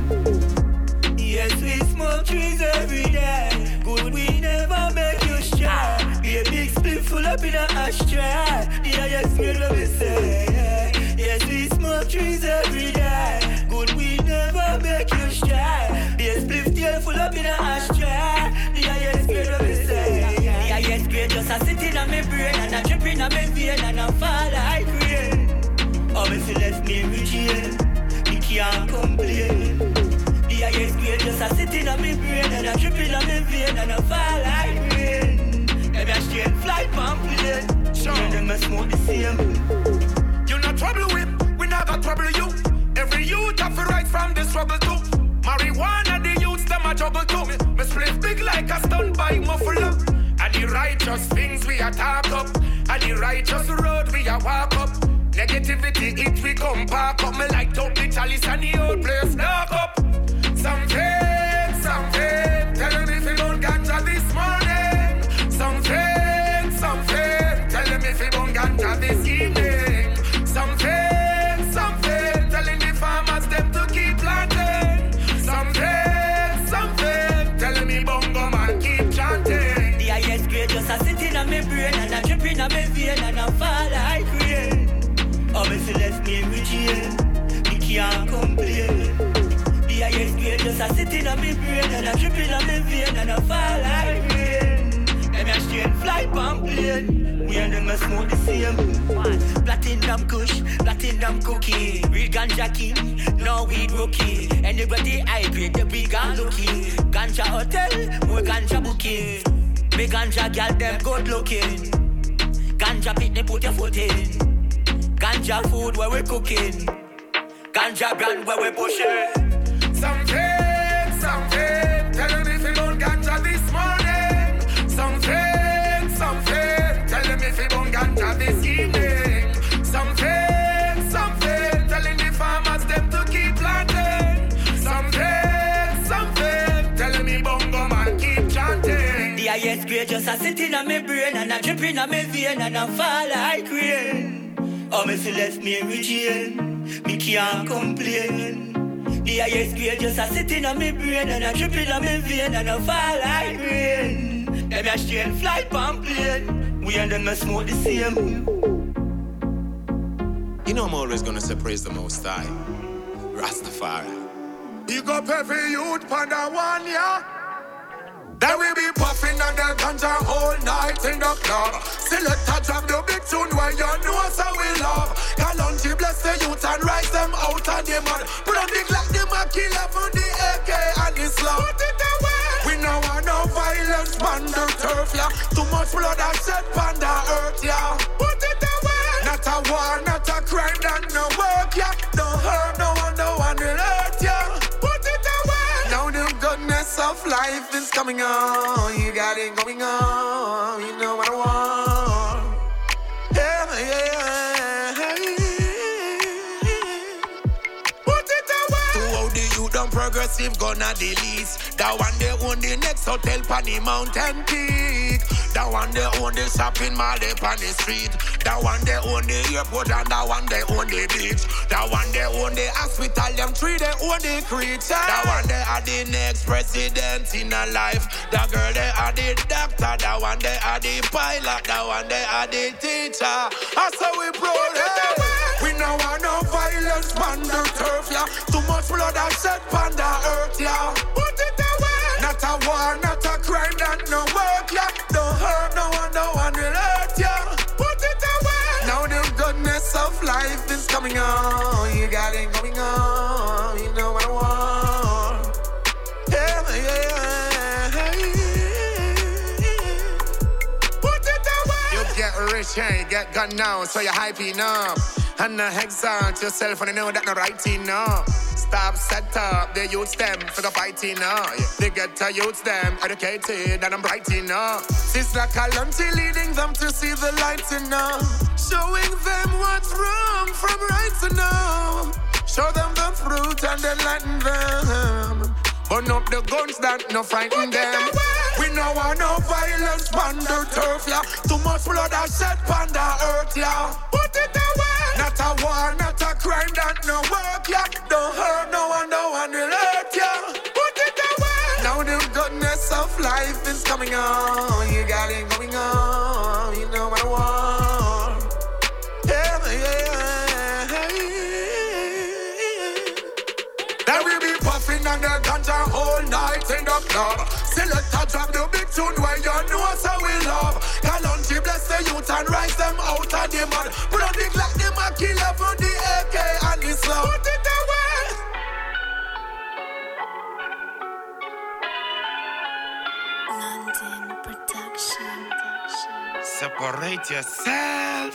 Yes, we smoke trees every day. Good, we never make you shy. Be a big split full up in a ashtray. The highest grade what we say. Yes, we smoke trees every day. Good, we never make you shy. Be a split tail full up in a ashtray. The highest grade what we say. The highest grade just a sitting on my brain and a dripping on my vein and a fall like rain. Oh, if you left me with jail, me can't complain. The highest grade just a sitting on my brain and a dripping on my vein and a fall like rain. Them a straight fly pamphlet, sure. And them a smoke the same. You not trouble with, we never trouble you. Every youth have to rise from the struggle too. Marijuana the youths them a juggle too. Me split big like a stunt by muffler. And the righteous things we attack up, and the righteous road we a walk up. Negativity it we come park up. Me light up the chalice and the old place dark up. Some fake, some fake, tell me if you don't ganja this morning. Some fake, some fake, tell me if you don't ganja this evening. Some fake, some fake, telling the farmers them to keep planting. Some fake, some fake, telling me bongo man keep chanting. The highest grade just a sitting on my brain and a dripping on my vein and a fall like rain. Oh, if you left me with jail, me can't complain. The highest grade just a sitting on my brain and a dripping on my vein and a fall like rain. Them a straight fly pamphlet. complain. We and them a smoke the same. Platinum kush, platinum cookie. Real ganja king, no weed rookie. Anybody high grade, the big and looking. Ganja hotel, more ganja booking. Big ganja girl, them good looking. Ganja pit, they put your foot in. Ganja food where we cooking. Ganja brand where we pushing. Something, something, tell them if you don't ganja this morning. Something, something, tell them if you don't ganja this evening. Something, something, telling the farmers them to keep planting. Something, something, telling me bongo man keep chanting. The highest grade just a sitting on my brain and a dripping on my vein and a fall like rain. Oh, me feel left me in jail, me can't complain. The highest grade just a sitting on my brain and a dripping on my vein and a fall like rain. Them a straight fly pan plane, we and them a smoke the same. You know I'm always gonna say praise the Most High, Rastafari. Big up every youth panda one, yeah. Then we be puffing on the ganja all night in the club. Select a drop the big tune where you know so we love. Kalonji bless the youth and rise them out of the mud. Put on the Glock, them a killer for the A K and Islam. Put it away. We know want no violence, panda turf, yeah. Too much blood and shed panda earth, yeah. Put it away. Not a war, not a crime, and no work, yeah. Don't hurt no one, no one will hurt, yeah. Put it away. Now the goodness of life is coming on. You got it going on. You know what I want. Yeah, yeah. Put it away. To how the youth done progressive gonna the least. That one they own the next hotel pan the mountain peak. That one they own the shopping mall up on the street. That one they own the airport and that one they own the beach. That one they own the hospital, them three they own the creature. That one they are the next president in a life. That girl they are the doctor. That one they are the pilot. That one they are the teacher. That's how we proud. We know want no violence, panda turf, yeah. Too much blood and shed panda earth, yeah. Put it away. Not a war, not a crime, that no work, yeah. Don't hurt no one, no one will hurt, yeah. Put it away. Now the goodness of life is coming on. You got it going on. You know what I want. Yeah, yeah. Put it away. You get rich and you get gone now, so you're hyping up. And not exalt yourself and you know that no right thing, no. Stop, set up the youths them for the fighting, no. They get to youths them educated and I'm bright, you know. It's like a lunty leading them to see the light, you know. Showing them what's wrong from right to know. Show them the fruit and enlighten them. Burn up the guns that no frighten them. We know want no violence, panda turf, yeah. Too much blood and shed panda earth, yeah. Put it away. Not a war, not a crime, that no work, yeah. Don't hurt no one, no one will hurt, yeah. Put it away. Now the goodness of life is coming on. You got it going on. You know what I want. Yeah, yeah. Then we be puffing on the ganja all night in the club. Select a drop the big tune where you know so we love. Kalonji bless the youth and rise them out of the mud. Put on the Glock, them a killer for the A K and Islam. Put it away. London production. Separate yourself.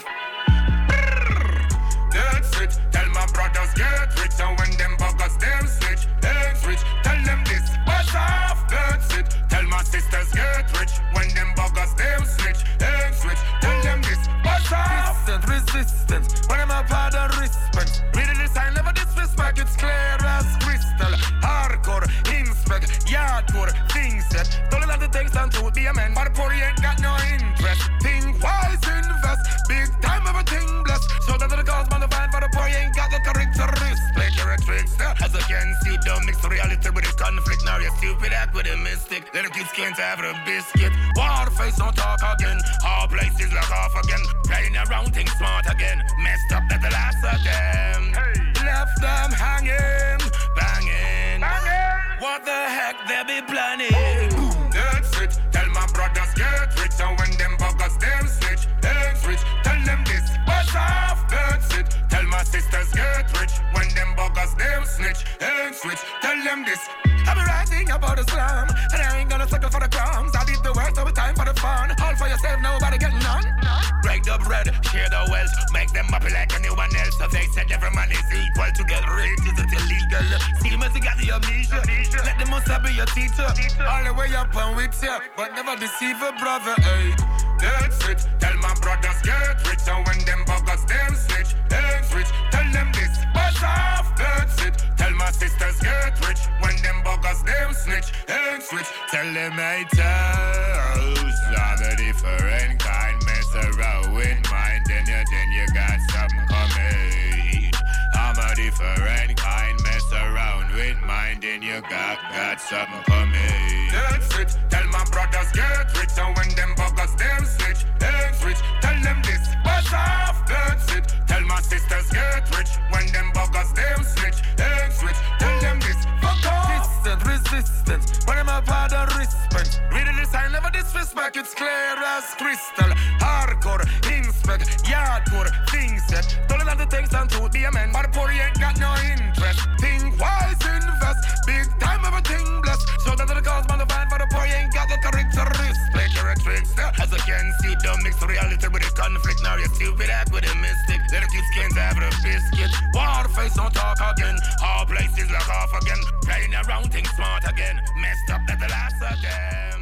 That's it. Tell my brothers get rich, and when them buggers them switch, them rich. Tell them this, wash off. That's it. Tell my sisters get rich, when them buggers them switch, them switch. Tell them this, wash off. Resistance, resistance. When I'm a part of respect. Reading this, I never disrespect. It's clear as crystal. Hardcore, inspect, yardcore, things that don't let the things down to be a man. But poor ain't got no interest. Think wise, invest. Big time, everything blessed. So that the cause man to find for the poor ain't got the characteristics. You're a trickster. As I can see, don't mix reality with the conflict. Now you're stupid act with a mystic. Little kids can't have a biscuit. War face, don't talk again. All places like off again. Playing around, think smart again. Messed up at the last of them. Hey. Left them hanging, banging. Banging. What the heck they be planning? That's it. Tell my brothers get rich, and when them buggers them word. Share the wealth, make them happy like anyone else. So they said every man is equal to get rich, is it illegal? See me, you got the amnesia. Let them must be your teacher. All the way up and with you, but never deceive a brother, hey. That's it, tell my brothers get rich. And when them buggers them snitch, them rich. Tell them this, buzz off, that's it. Tell my sisters get rich. When them buggers them snitch, them switch. Tell them I toes, I'm a different kind. Mess around with mine, then you, then you got something coming. I'm a different kind. Mess around with mine, then you got, got something coming. That's it, tell my brothers get rich. And when them buggers them snitch, them switch. Tell them this, buzz off, that's it. Tell my sisters get rich. When them buggers them snitch, them switch. Tell them this, fuck off. Distant resistance, when I'm a part of respect. Reading this, I never disrespect. It's clear as crystal. Hardcore, inspect, yard tour, things set. Don't let the things down to be a man. But the poor ain't got no interest. Think wise, invest. Big time, everything blessed. So that the cause man to find for the poor ain't got the characteristics. You're a trickster. As I can see, don't mix reality with the conflict. Now you're stupid act with a mystic. Let the kids can't have the biscuit. War face, don't talk again. All places like off again. Playing around, think smart again. Messed up at the last of them.